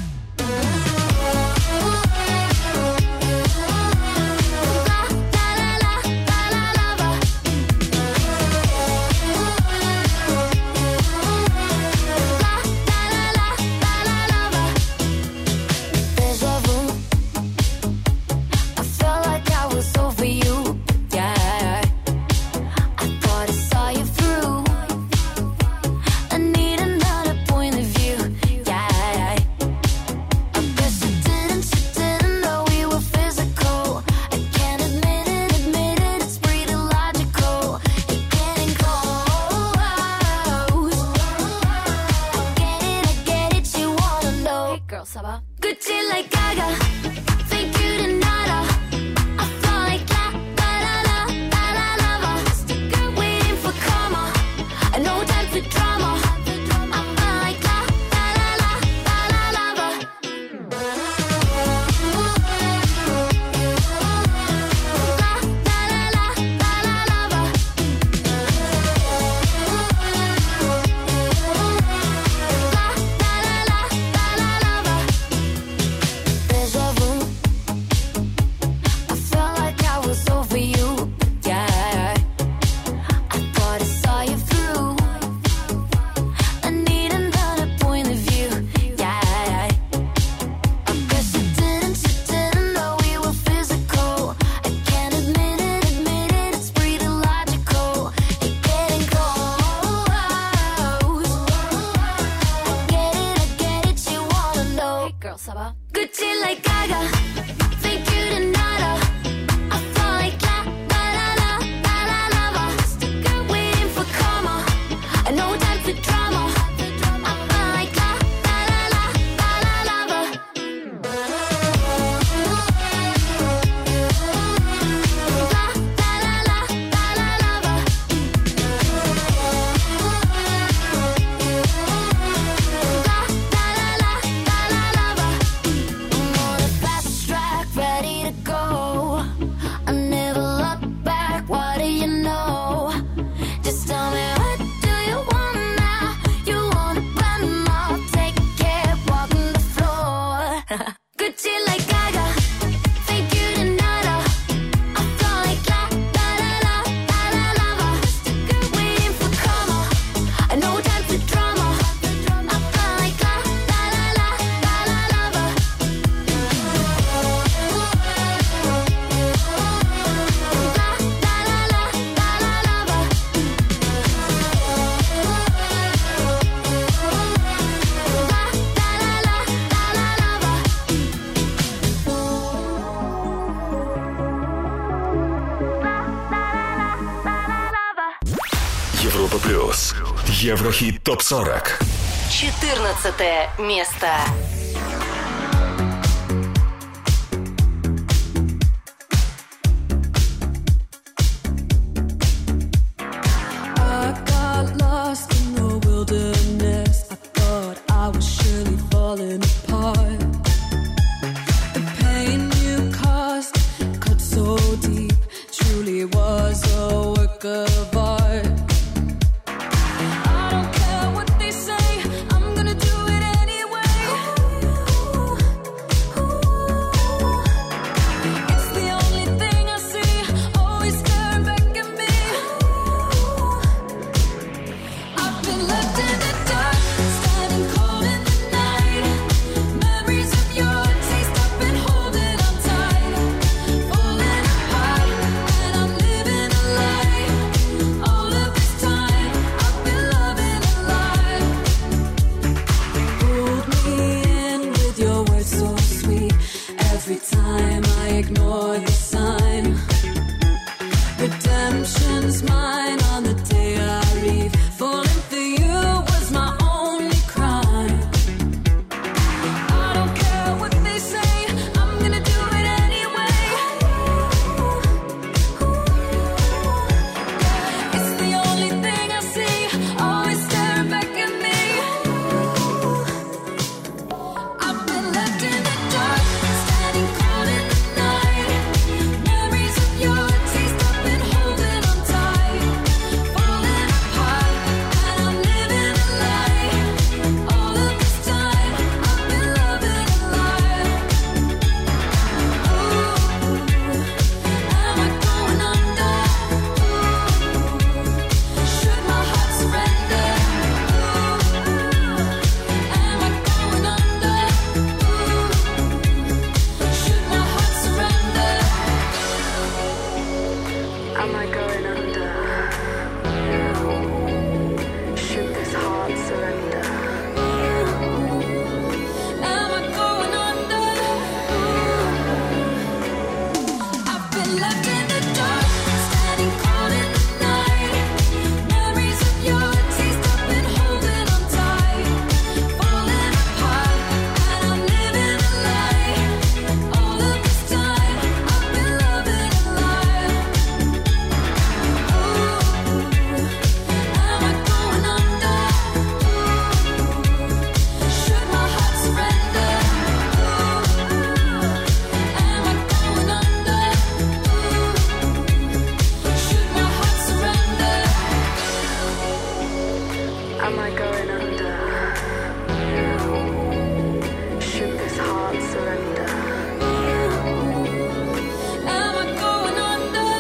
Speaker 1: Gucci like Gaga, think you didn't know. I feel like la la la la la la la. Waiting for karma, and no time for drama. I feel like la la la la la la la. Gucci like Gaga, think you didn't know. I feel like la
Speaker 3: Еврохит ТОП-40.
Speaker 5: 14 место.
Speaker 10: I got lost in the wilderness. I thought I was surely falling apart. The pain you caused cut so deep, truly was a work of art. I don't care what they say, I'm gonna do it anyway. It's the only thing I see, always staring back at me. I've been left in the dark, standing cold in the night. Memories of your taste, I've been holding on tight. Falling apart, and I'm living a lie. All of this time, I've been loving a lie. Pulled me in with your words so sweet. Every time I ignore the sign. Redemption's mine on the day I leave. Falling for you was my only crime. I don't care what they say, I'm gonna do it anyway. It's the only thing I see, always staring back at me. I've been left in the dark, standing cold in the night. Memories of your taste, I've been holding on tight. Falling apart, and I'm living a lie. All of this time, I've been loving a lie. Am I going under? Should my heart surrender? Am I going under? Should my heart surrender? Am I going under? Should this heart surrender? Am I going under? I've been left in the dark, standing cold in the night. Memories of your taste, I've been holding on tight. Falling apart, and I'm living a lie. All of this time, I've been loving a lie. Am I going under? Should my heart surrender? Am I going under? Should my heart surrender? Am I going under? Should this heart surrender? Am I going under?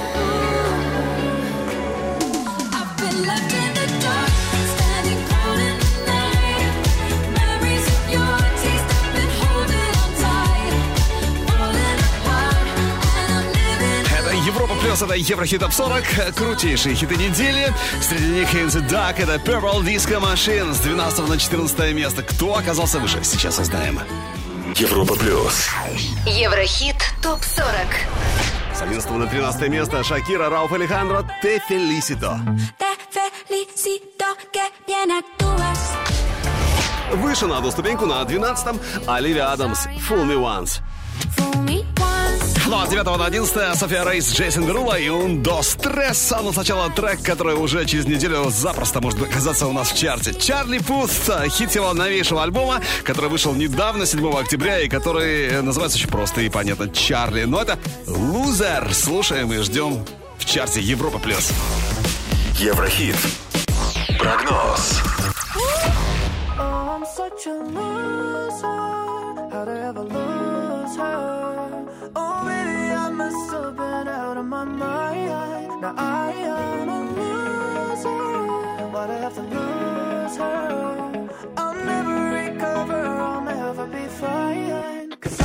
Speaker 10: I've been left in the dark, standing cold in the night. Memories of your taste, I've been holding on tight. Falling apart, and I'm living.
Speaker 2: Это Европа Плюс, это Еврохит Топ 40. Крутейшие хиты недели. Среди них Hands Duck, это Purple Disco Machine с 12 на 14 место. Кто оказался выше, сейчас узнаем.
Speaker 3: Европа Плюс.
Speaker 5: Еврохит ТОП-40.
Speaker 2: С 11 на 13 место Шакира, Рауф Алехандро, Te Felicito.
Speaker 9: Te felicito que bien actúas.
Speaker 2: Выше на одну ступеньку на 12-м Оливия Адамс, Fool Me Once.
Speaker 9: Fool me once.
Speaker 2: Ну а с 9 на 11 София Рейс, Джейсон Дерула и Un Dos Tres. Но сначала трек, который уже через неделю запросто может оказаться у нас в чарте. Чарли Пут, хит его новейшего альбома, который вышел недавно, 7 октября, и который называется очень просто и понятно Чарли. Но это Loser. Слушаем и ждем в чарте Европа Плюс.
Speaker 3: Еврохит. Прогноз.
Speaker 6: Oh, I'm such a loser. How'd I ever lose her? Oh, baby, I must have been out of my mind. Now I am a loser. Why'd I have to lose her? I'll never recover, I'll never be fine. 'Cause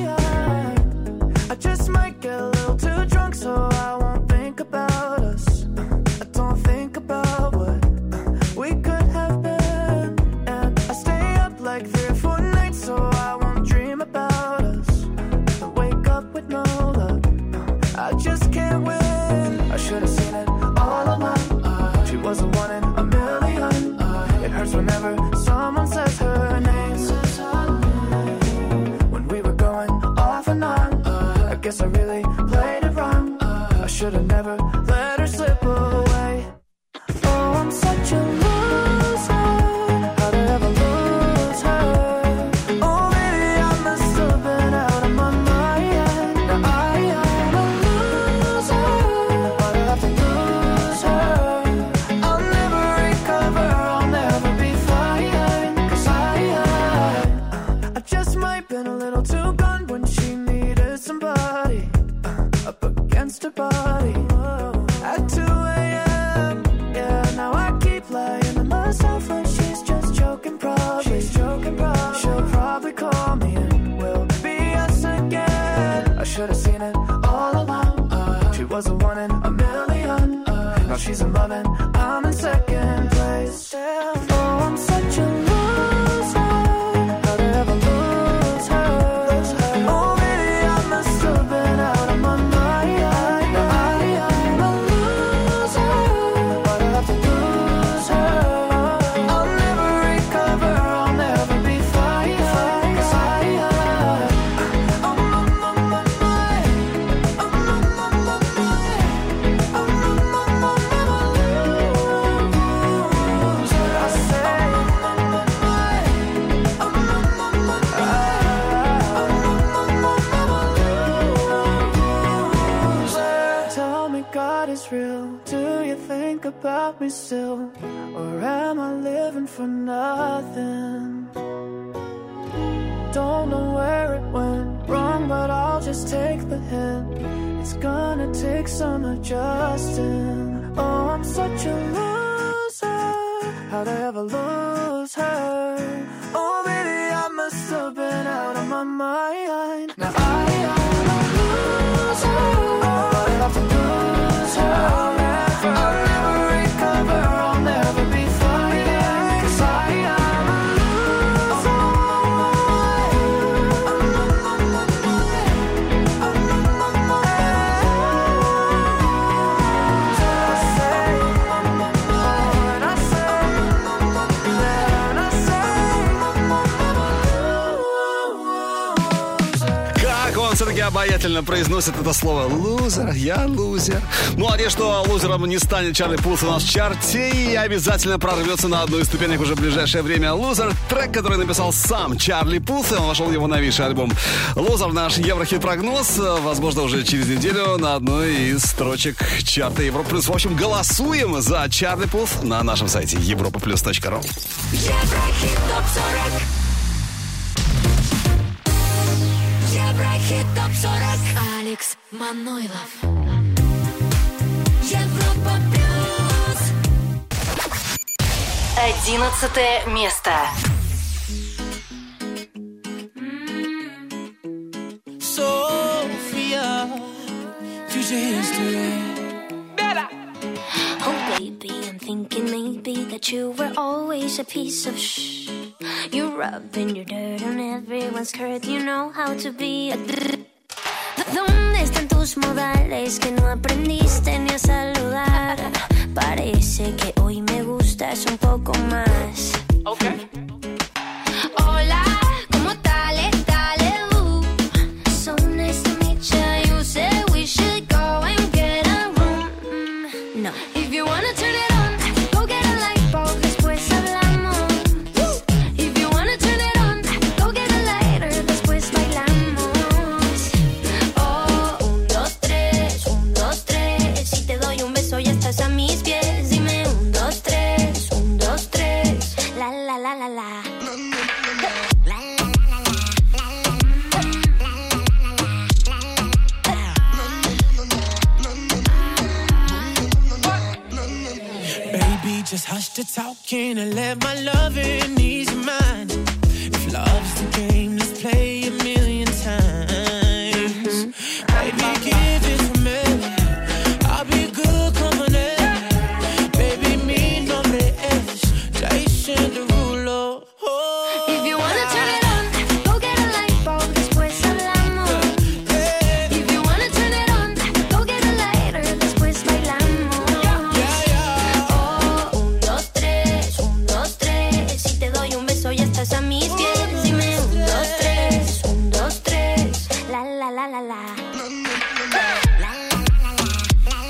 Speaker 6: I just might get a little too drunk, so I won't think about us. I don't think about what we could have been. And I stay up like 3 or 4 nights, so I won't dream about us. I wake up with no luck, I just can't win. I should've seen it should've never let her slip away. Oh, I'm such a loser. How'd I ever lose her? Oh, maybe I must have been out of my mind. Now I am a loser. Why'd I have to lose her? I'll never recover, I'll never be fine. 'Cause I just might been a little too gone when she needed somebody up against her body at 2 a.m. Yeah, now I keep lying to myself like she's just joking probably. She'll probably call me and we'll be us again. I should've seen it all along. She was a one in a million. Now she's in love and I'm in second place. Oh, I'm such a loser. How'd I ever lose her? Oh, maybe I must have been out of my mind. Now I am a loser. Why'd I have to lose her? I'll never recover, I'll never be fine. 'Cause tell me God is real. Do you think about me still? Or am I living for nothing? Don't know where it went wrong, but I'll just take the hint. It's gonna take some adjusting. Oh, I'm such a loser. How'd I ever lose her? Oh, maybe I must have been out of my mind. Now I am a loser. I'll have to lose her. I'll never recover, I'll never be fine. 'Cause I am a loser.
Speaker 2: Как он все-таки обаятельно произносит это слово. Лузер, я лузер. Ну, а те, что лузером не станет Чарли Пулс у нас в чарте, и обязательно прорвется на одну из ступенек уже в ближайшее время. Лузер, трек, который написал сам Чарли Пулс, и он вошел в его новейший альбом. Лузер, наш Еврохит-прогноз, возможно, уже через неделю на одной из строчек чарта Европа Плюс. В общем, голосуем за Чарли Пулс на нашем сайте europaplus.ru.
Speaker 1: Еврохит ТОП-40. Еврохит ТОП-40. Алекс Манойлов. Европа Плюс.
Speaker 5: 11 место.
Speaker 11: Sophia, future history.
Speaker 9: Oh, baby, I'm thinking maybe that you were always a piece of shh. You're rubbing your dirt on everyone's skirt. You know how to be a ¿Dónde están tus modales que no aprendiste ni a saludar? Parece que hoy me gustas un poco más.
Speaker 11: Okay.
Speaker 9: Hola, ¿cómo dale? So nice to meet you. You said we should go and get a room. No. If you wanna turn it on, go get a light bulb, después hablamos. If you wanna turn it on, go get a lighter, después bailamos. Oh, 1, 2, 3, 1, 2, 3. Si te doy un beso ya estás a mis pies. Dime 1, 2, 3, 1, 2, 3. La la la la la.
Speaker 11: Baby, just hush the talking and let my loving ease your mind. If love's the game, let's play a million times. Baby, give it to me. I'll be good company. Baby, mi nombre es Jason Derulo.
Speaker 9: If you wanna turn it on, go get a light bulb, después hablamos. If you wanna turn it on, go get a lighter, después bailamos. Oh, 1, 2, 3, 1, 2, 3. Si te doy un beso ya estás a mis pies. Dime 1, 2, 3, 1, 2, 3. La la la la la.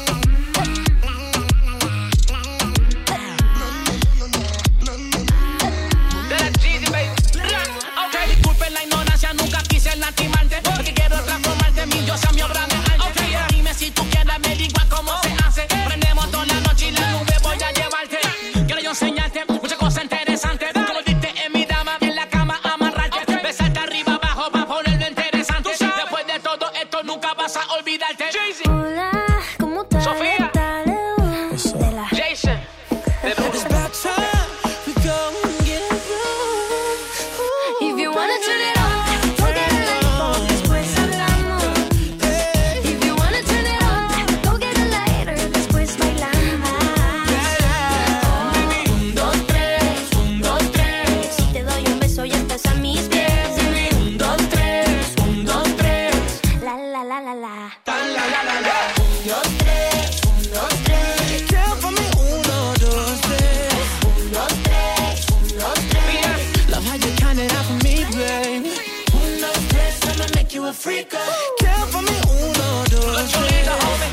Speaker 11: freak. Count for me, 1, 2, 3.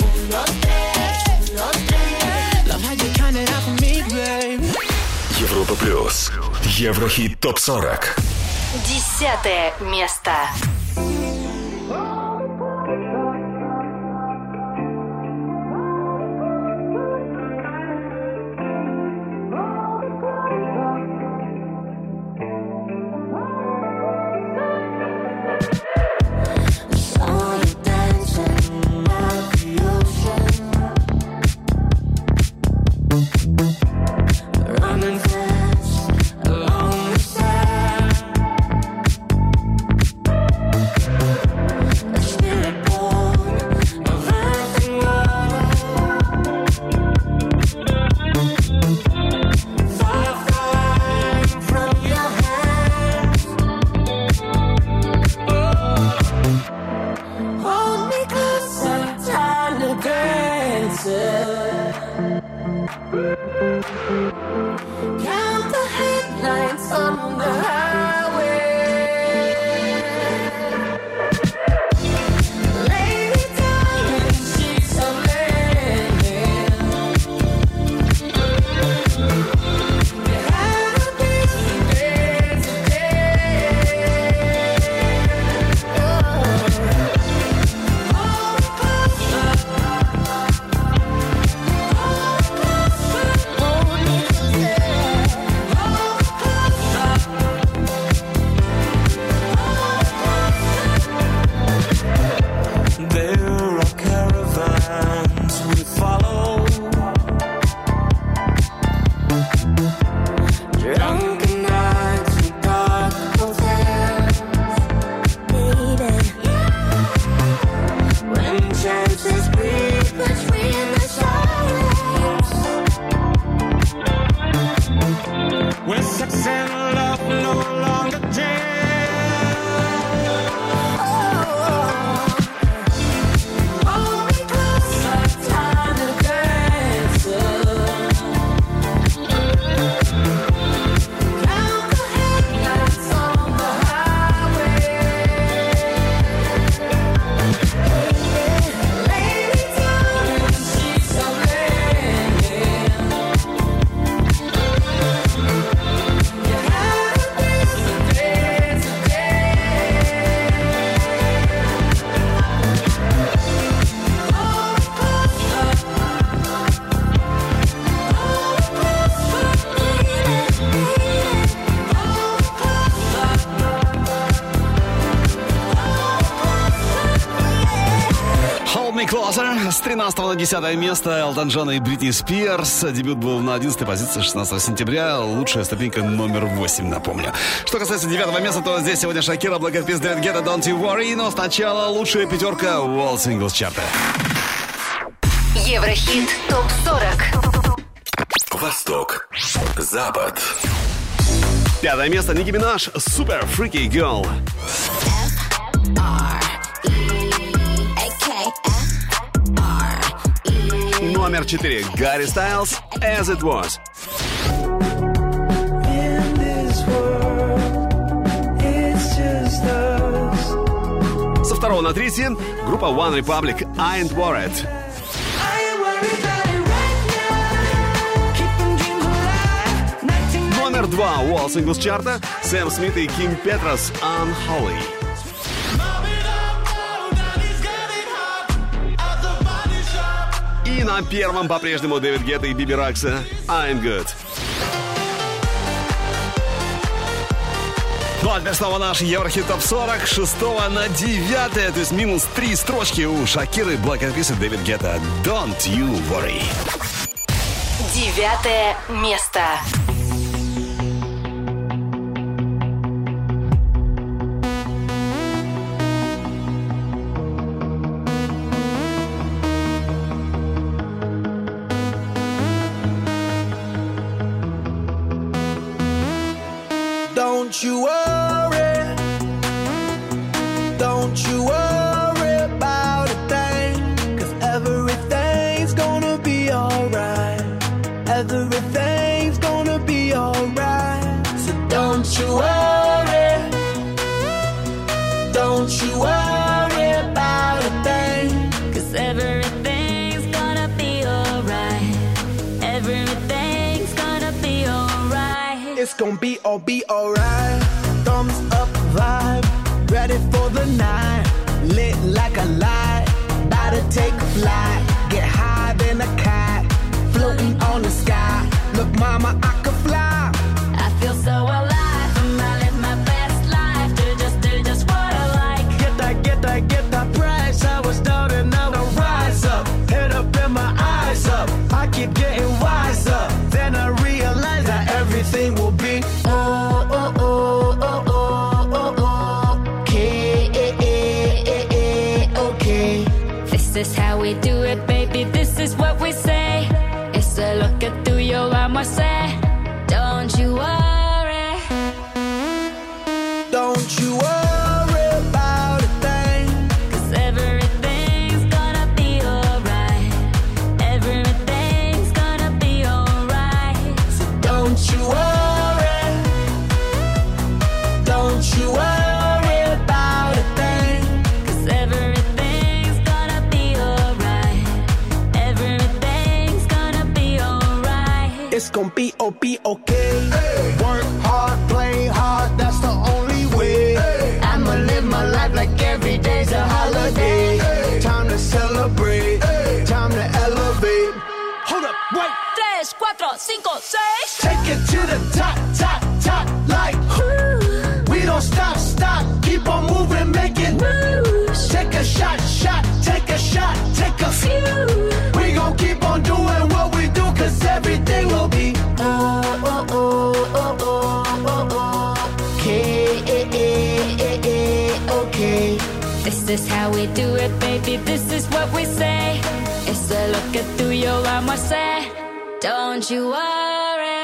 Speaker 11: Love how you count it out for me, baby.
Speaker 3: Европа плюс. Еврохит ТОП-40.
Speaker 5: 10 место.
Speaker 2: С 13 на 10 место Элтон Джон и Бритни Спирс. Дебют был на 11 позиции 16 сентября. Лучшая ступенька номер 8, напомню. Что касается 9 места, то здесь сегодня Шакира, Black Eyed Peas, David Guetta, Don't You Worry. Но сначала лучшая пятерка World Singles Chart.
Speaker 5: Еврохит ТОП-40.
Speaker 3: Восток. Запад.
Speaker 2: 5 место Ники Минаж, Super Freaky Girl. Номер 4 Гарри Стайлз, As It Was. Со 2 на 3 группа One Republic, I Ain't Worried. Номер 2 World Singles чарта Сэм Смит и Ким Петрос, Unholy. И на первом по-прежнему Дэвид Гетта и Биби Ракса, I'm Good. Ну а теперь снова наш Еврохит ТОП-40 с 6 на 9, то есть минус 3 строчки у Шакиры, Black Eyed Peas и Дэвид Гетта, Don't You Worry.
Speaker 5: 9 место.
Speaker 11: Don't you worry, don't you worry about a thing, 'cause everything's gonna be alright, everything's gonna be alright, so don't you worry, don't you worry. gonna be alright. Thumbs up vibe, ready for the night. Lit like a light, about to take a flight. Get higher than a kite, floating on the sky. Look, mama, I could fly.
Speaker 1: I feel so alive. I live my best life. Do just what I like.
Speaker 11: Get that price. I was down and now I rise up. Head up and my eyes up. I keep getting wiser. Then I realize that everything will be okay.
Speaker 1: This is how we do it, baby. This is what we say. It's a look at through your armor, say. Don't you worry.
Speaker 11: Don't you worry about a thing.
Speaker 1: 'Cause everything's gonna be alright. Everything's gonna be alright.
Speaker 11: So don't you worry. Don't you worry about a thing.
Speaker 1: 'Cause everything's gonna be alright. Everything's gonna be alright.
Speaker 11: It's gonna be okay. Work hard, play hard, that's the only way. I'ma live my life like every day's a holiday. Time to celebrate, time to elevate. Hold up, wait.
Speaker 1: 3, 4, 5, 6.
Speaker 11: Take it to the top, like we don't stop, keep on moving, make it moves. Take a shot, take a shot, take a few. We gon' keep on doing what we do, 'cause everything will be okay.
Speaker 1: This is how we do it, baby. This is what we say. It's a look at through your armor, say. Don't you worry.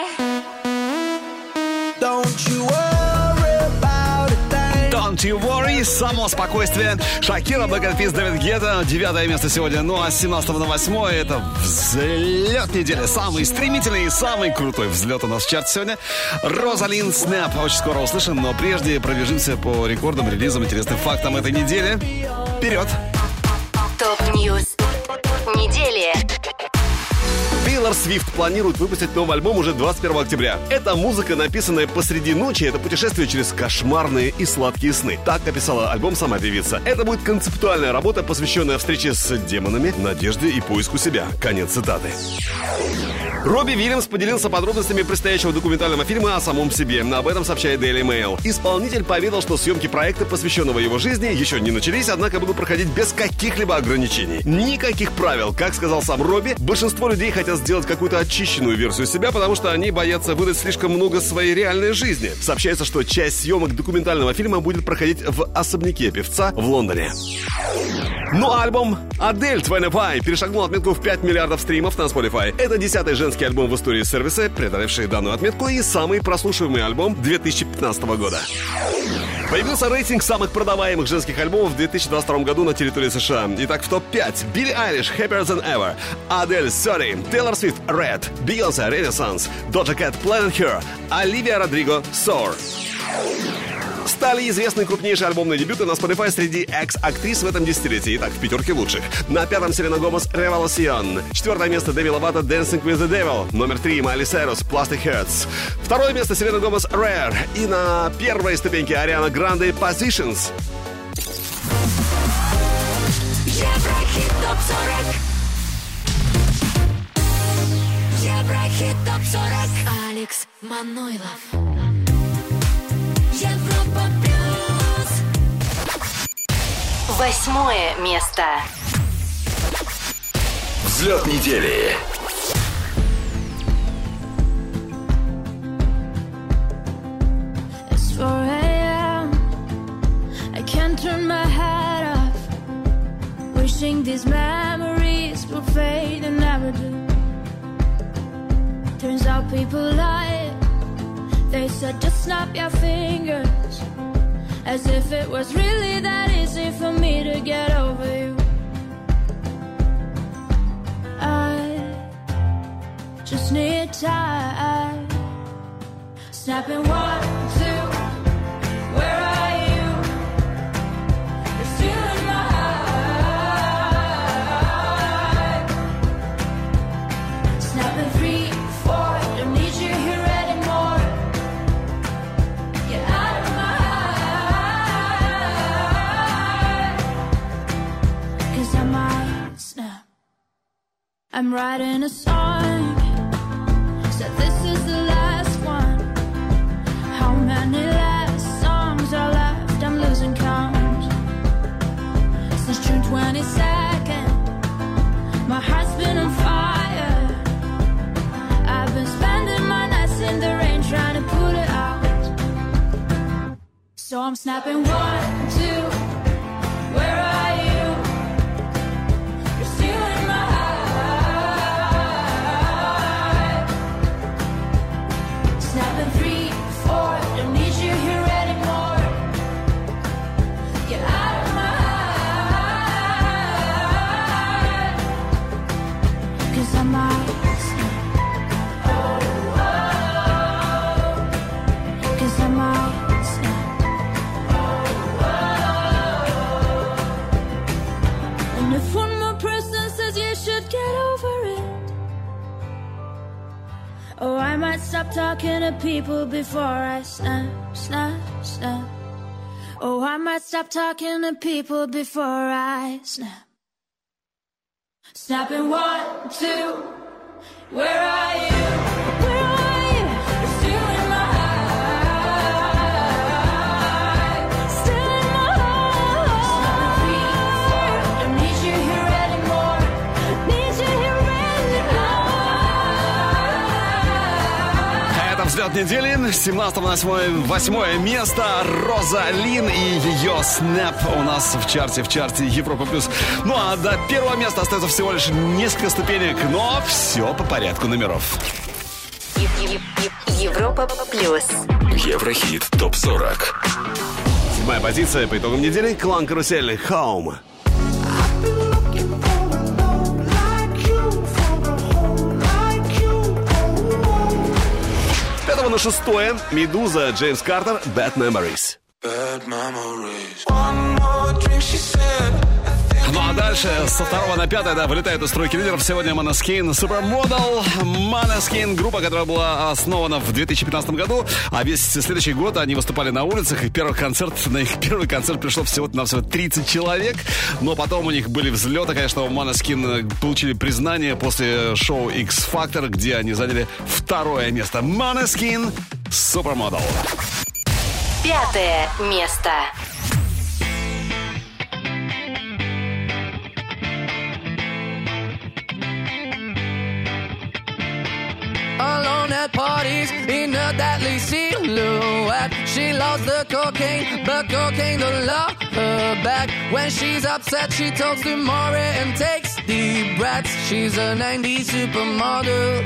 Speaker 11: Don't you worry about a thing.
Speaker 2: Don't you worry, само спокойствие. Шакира, Black Eyed Peas, Дэвид Гетта. 9 место сегодня. Ну а с 17 на 8 это взлет недели. Самый стремительный и самый крутой взлет у нас в чарте сегодня. Розалин Снэп. Очень скоро услышим, но прежде пробежимся по рекордам, релизам, интересным фактам этой недели. Вперед!
Speaker 5: Топ-ньюс недели.
Speaker 2: Тейлор Свифт планирует выпустить новый альбом уже 21 октября. Это музыка, написанная посреди ночи, это путешествие через кошмарные и сладкие сны. Так описала альбом сама певица. Это будет концептуальная работа, посвященная встрече с демонами, надежде и поиску себя. Конец цитаты. Робби Уильямс поделился подробностями предстоящего документального фильма о самом себе. Об этом сообщает Daily Mail. Исполнитель поведал, что съемки проекта, посвященного его жизни, еще не начались, однако будут проходить без каких-либо ограничений. Никаких правил. Как сказал сам Робби, большинство людей хотят сделать какую-то очищенную версию себя, потому что они боятся выдать слишком много своей реальной жизни. Сообщается, что часть съемок документального фильма будет проходить в особняке певца в Лондоне. Ну а альбом Адель «25» перешагнул отметку в 5 миллиардов стримов на Spotify. Это 10-й женский альбом в истории сервиса, преодолевший данную отметку, и самый прослушиваемый альбом 2015 года. Появился рейтинг самых продаваемых женских альбомов в 2022 году на территории США. Итак, в топ-5 Билли Айлиш «Happier Than Ever», Адель «30», Тейлор Свифт «Red», Бейонсе «Renaissance», Доджа Кэт «Planet Her», Оливия Родриго «Soar». Стали известны крупнейшие альбомные дебюты на Spotify среди экс-актрис в этом десятилетии. Итак, в пятерке лучших. На 5-м Селена Гомес «Revolution». 4-е место Деми Ловато «Dancing with the Devil». Номер 3 Майли Сайрус «Plastic Hearts». 2-е место Селена Гомес «Rare». И на 1-й ступеньке Ариана Гранде «Positions».
Speaker 1: Еврохит ТОП-40. Еврохит ТОП-40. Алекс Манойлов. Европа плюс.
Speaker 5: 8 место.
Speaker 3: Взлет недели.
Speaker 9: It's 4 a.m. I can't turn my head off. Wishing these memories will fade and never do. Turns out people lie. They said just snap your fingers, as if it was really that easy for me to get over you. I just need time. Snapping 1, 2, where are you? You're still in my heart. Snapping 3, 4, don't need you here anymore. I'm writing a song. Said this is the last one. How many last songs are left? I'm losing count. Since June 22nd, my heart's been on fire. I've been spending my nights in the rain trying to put it out. So I'm snapping 1, 2. Where are you? You're stealing my heart. Snapping 3, 4. Don't need you here anymore. Get out of my heart. 'Cause I might snap. Oh, oh. 'Cause I might snap. And if one more person says you should get over it, oh, I might stop talking to people before I snap, snap, snap. Oh, I might stop talking to people before I snap. Snapping 1, 2. Where are you? Where are you? You're stealing my heart. Stealing my heart. Snapping 3, 4. Don't need you here anymore. Need you here anymore.
Speaker 2: Это взлет недели. С 17 на 8 место. Роза Лин и ее «Snap» у нас в чарте Европа+. Ну а до первого места остается всего лишь несколько ступенек, но все по порядку номеров.
Speaker 5: Европа+.
Speaker 3: Еврохит ТОП-40.
Speaker 2: 7-я позиция по итогам недели. Клан Карусель «Home». 5 на 6 «Медуза», Джеймс Картер, «Bad Memories». Ну а дальше со 2 на 5, да, вылетает из стройки лидеров. Сегодня Måneskin, Supermodel. Måneskin, группа, которая была основана в 2015 году. А весь следующий год они выступали на улицах. И на их первый концерт пришло всего-навсего 30 человек. Но потом у них были взлеты. Конечно, Måneskin получили признание после шоу X-Factor, где они заняли 2 место. Måneskin, Supermodel.
Speaker 5: 5 место.
Speaker 12: Alone at parties in a deadly silhouette. She loves the cocaine, but cocaine don't love her back. When she's upset, she talks to Maury and takes deep breaths. She's a 90s supermodel.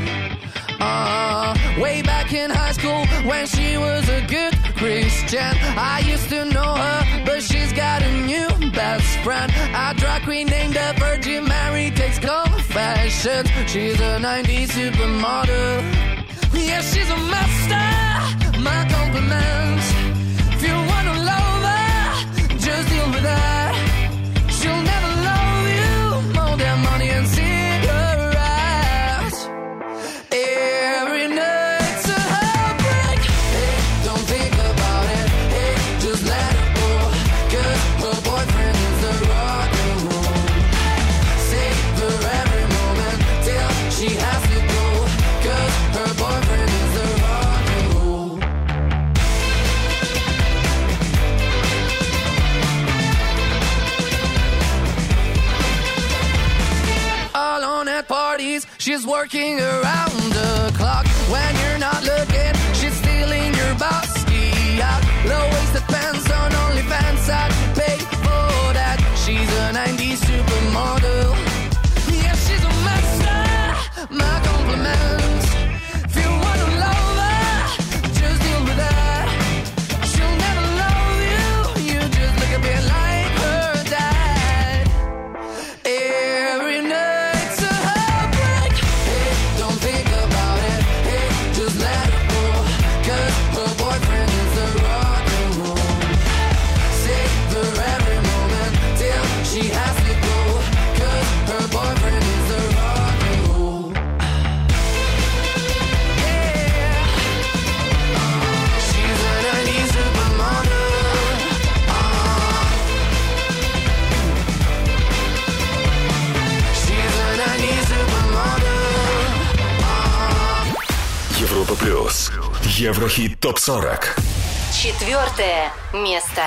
Speaker 12: Way back in high school when she was a good Christian, I used to know her, but she's got a new best friend. A drag queen named the Virgin Mary takes confessions. She's a 90s supermodel. Yeah, she's a master. My compliments. If you wanna love her, just deal with her. She'll never love you more than money and cigarettes. Every night's a heartbreak. Hey, don't think about it. Hey, just let it go. 'Cause her boyfriend is the rock and roll. Savor every moment till she has to go. 'Cause her boyfriend is the rock and roll. Alone at parties, she's working around the clock. When you're not looking, she's stealing your bossy out. Low-waisted pants on OnlyFans, I'd pay for that. She's a 90s supermodel. Yeah, she's a master. My compliments. If you wanna love her, just deal with her. She'll never love you. You just look a bit like her dad. Every night's a heartbreak. Hey, don't think about it. Hey, just
Speaker 3: Еврохит ТОП-40.
Speaker 5: 4 место.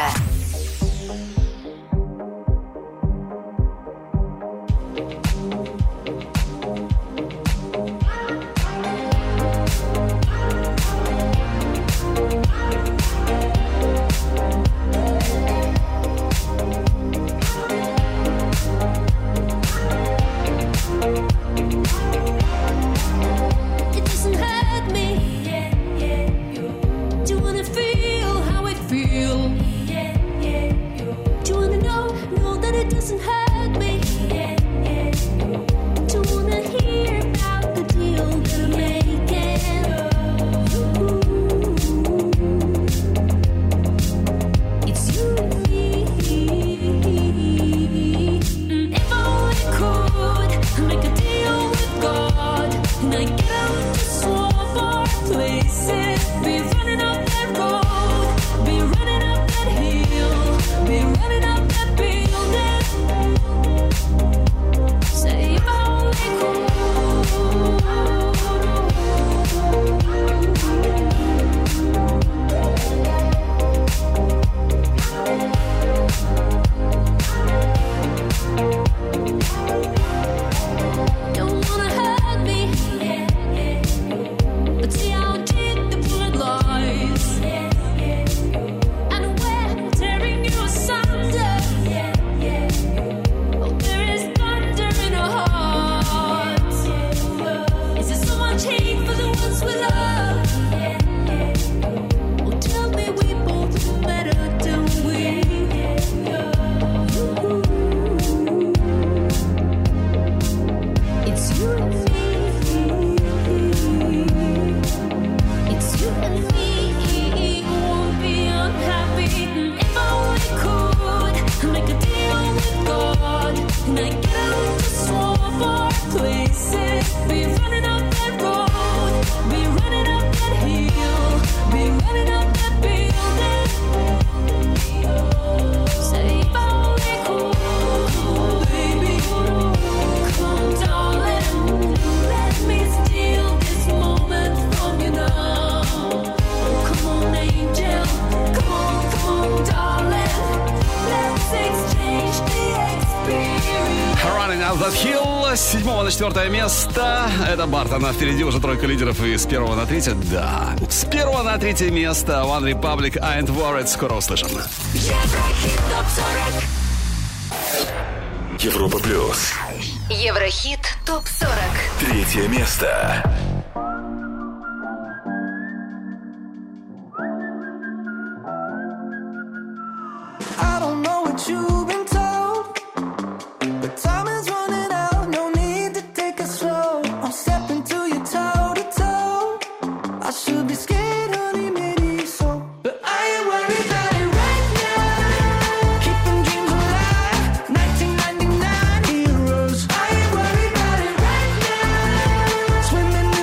Speaker 2: С 7 на 4 место. Это Бартон. А впереди уже тройка лидеров. И с 1 на 3. Да. С 1 на 3 место One Republic, I Ain't Worried. Скоро услышим.
Speaker 3: Еврохит ТОП-40. Европа Плюс.
Speaker 5: Еврохит ТОП-40.
Speaker 3: 3 место.
Speaker 4: I don't know what you've been told, but time is running out. No need to take it slow. I'm stepping to you toe to toe. I should be scared, honey, maybe so, but I ain't worried about it right now. Keeping dreams alive, 1999 heroes. I ain't worried about it right now. Swimming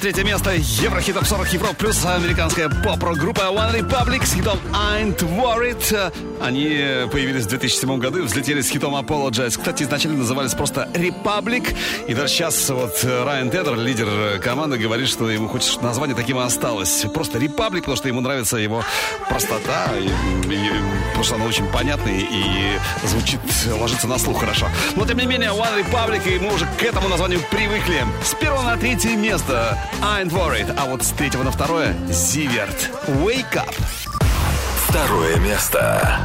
Speaker 2: 23 место. Еврохит Топ 40 Европа плюс американская поп-рок-группа One Republic с хитом I'm Worried. Они появились в 2007 году и взлетели с хитом Apologize. Кстати, изначально назывались просто Republic. И даже сейчас вот Райан Тедер, лидер команды, говорит, что ему хоть название таким и осталось. Просто Republic, потому что ему нравится его простота. Потому что она очень понятная и звучит, ложится на слух хорошо. Но тем не менее, One Republic, и мы уже к этому названию привыкли. С 1 на 3 место I'm Worried, а вот с 3 на 2 Zivert Wake Up.
Speaker 3: Второе место.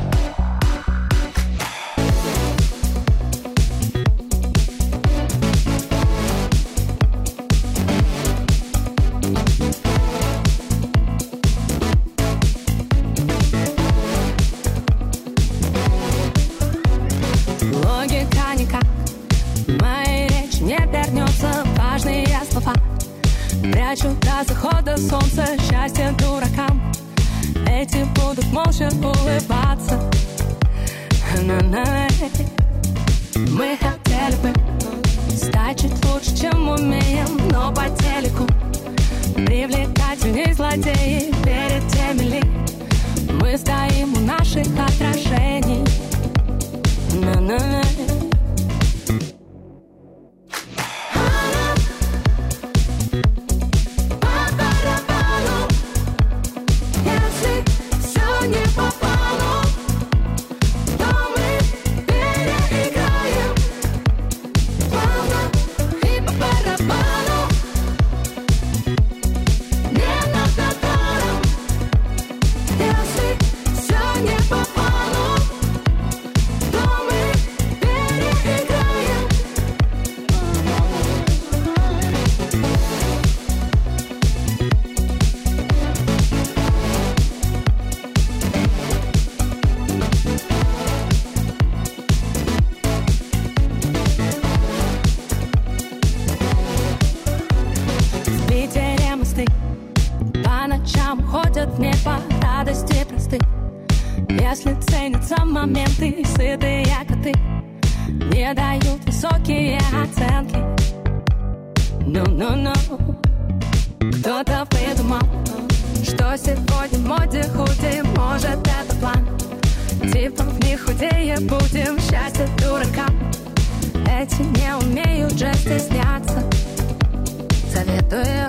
Speaker 10: Логика никак моей речи не вернется. Важные слова прячу до захода солнца. Счастье дуракам, эти будут молча улыбаться. Мы хотели бы стать чуть лучше, чем умеем, но по телеку привлекательней злодеи. Перед теми ли мы стоим у наших отражений. Если ценятся моменты, сытые коты не дают высокие оценки. No. Кто-то придумал, что сегодня в моде худи. Может, это план, типа не худее будем. Счастье дуракам, эти не умеют же стесняться. Советую.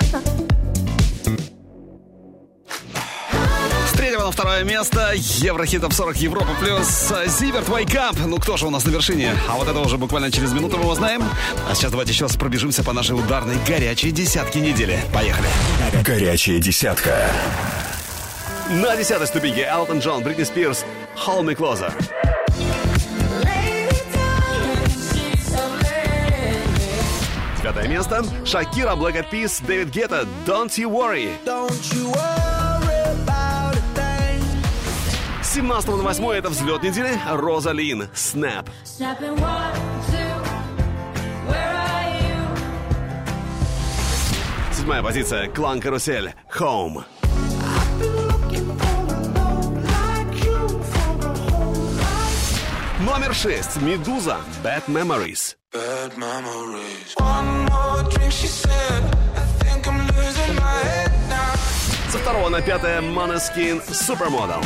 Speaker 2: С 3 на 2 место Еврохит Топ 40 Европа плюс Zivert Wake Up. Ну кто же у нас на вершине? А вот это уже буквально через минуту мы узнаем. А сейчас давайте еще раз пробежимся по нашей ударной горячей десятке недели. Поехали.
Speaker 3: Горячая десятка.
Speaker 2: На 10-й ступеньке Элтон Джон, Бритни Спирс, Hold Me Closer. 5 место Шакира, Black Eyed Peas, Дэвид Гетта, Don't You Worry. 17 на 8 это взлет недели Роза Лин, Snap. 7 позиция Клан Карусель, Home. 6 Медуза, Bad Memories.
Speaker 6: Bad memories. One more drink, she said. I think I'm losing my head now.
Speaker 2: Со 2 на 5 Måneskin, Supermodel.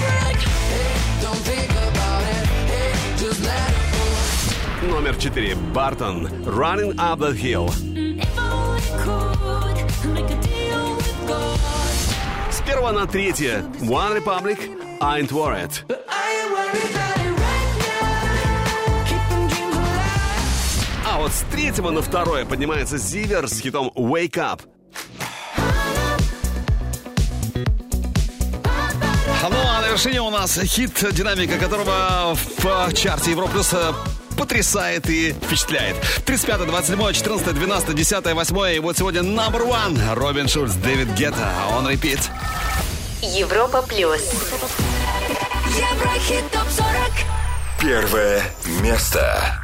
Speaker 2: Номер 4 Бартон, Running Up That Hill. С 1 на 3 One Republic, Ain't Worried. А вот с 3 на 2 поднимается Zivert с хитом Wake Up. Ну а на вершине у нас хит, динамика которого в чарте Европа Плюс потрясает и впечатляет. 35, 27, 14, 12, 10, 8 и вот сегодня номер 1 Робин Шульц, Дэвид Гетта, он репит.
Speaker 5: Европа Плюс.
Speaker 1: Еврохит Топ 40.
Speaker 3: Первое место.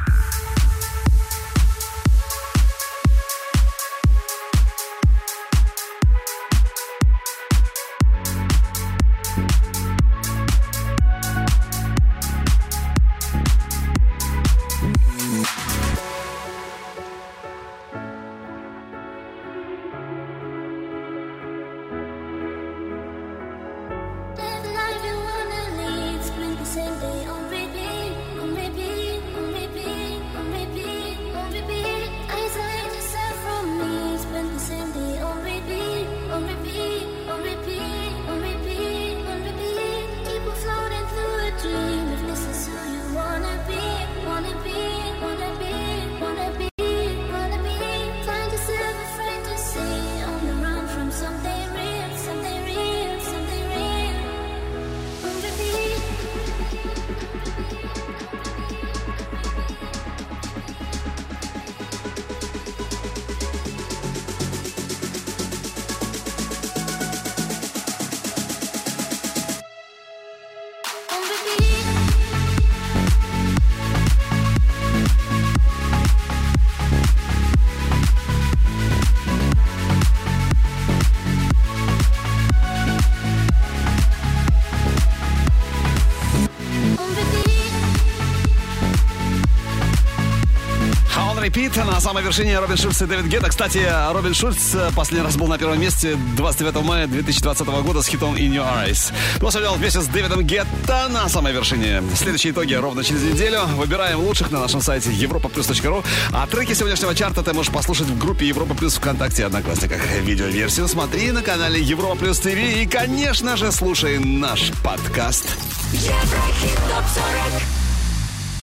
Speaker 2: Repeat. На самой вершине Робин Шульц и Дэвид Гетта. Кстати, Робин Шульц последний раз был на первом месте 29 мая 2020 года с хитом In Your Eyes. Посмотрел вместе с Дэвидом Гетта на самой вершине. Следующие итоги ровно через неделю. Выбираем лучших на нашем сайте europaplus.ru. А треки сегодняшнего чарта ты можешь послушать в группе Европа Плюс ВКонтакте и Одноклассниках. Видеоверсию смотри на канале Европа Плюс ТВ. И, конечно же, слушай наш подкаст.
Speaker 13: Еврохит ТОП 40.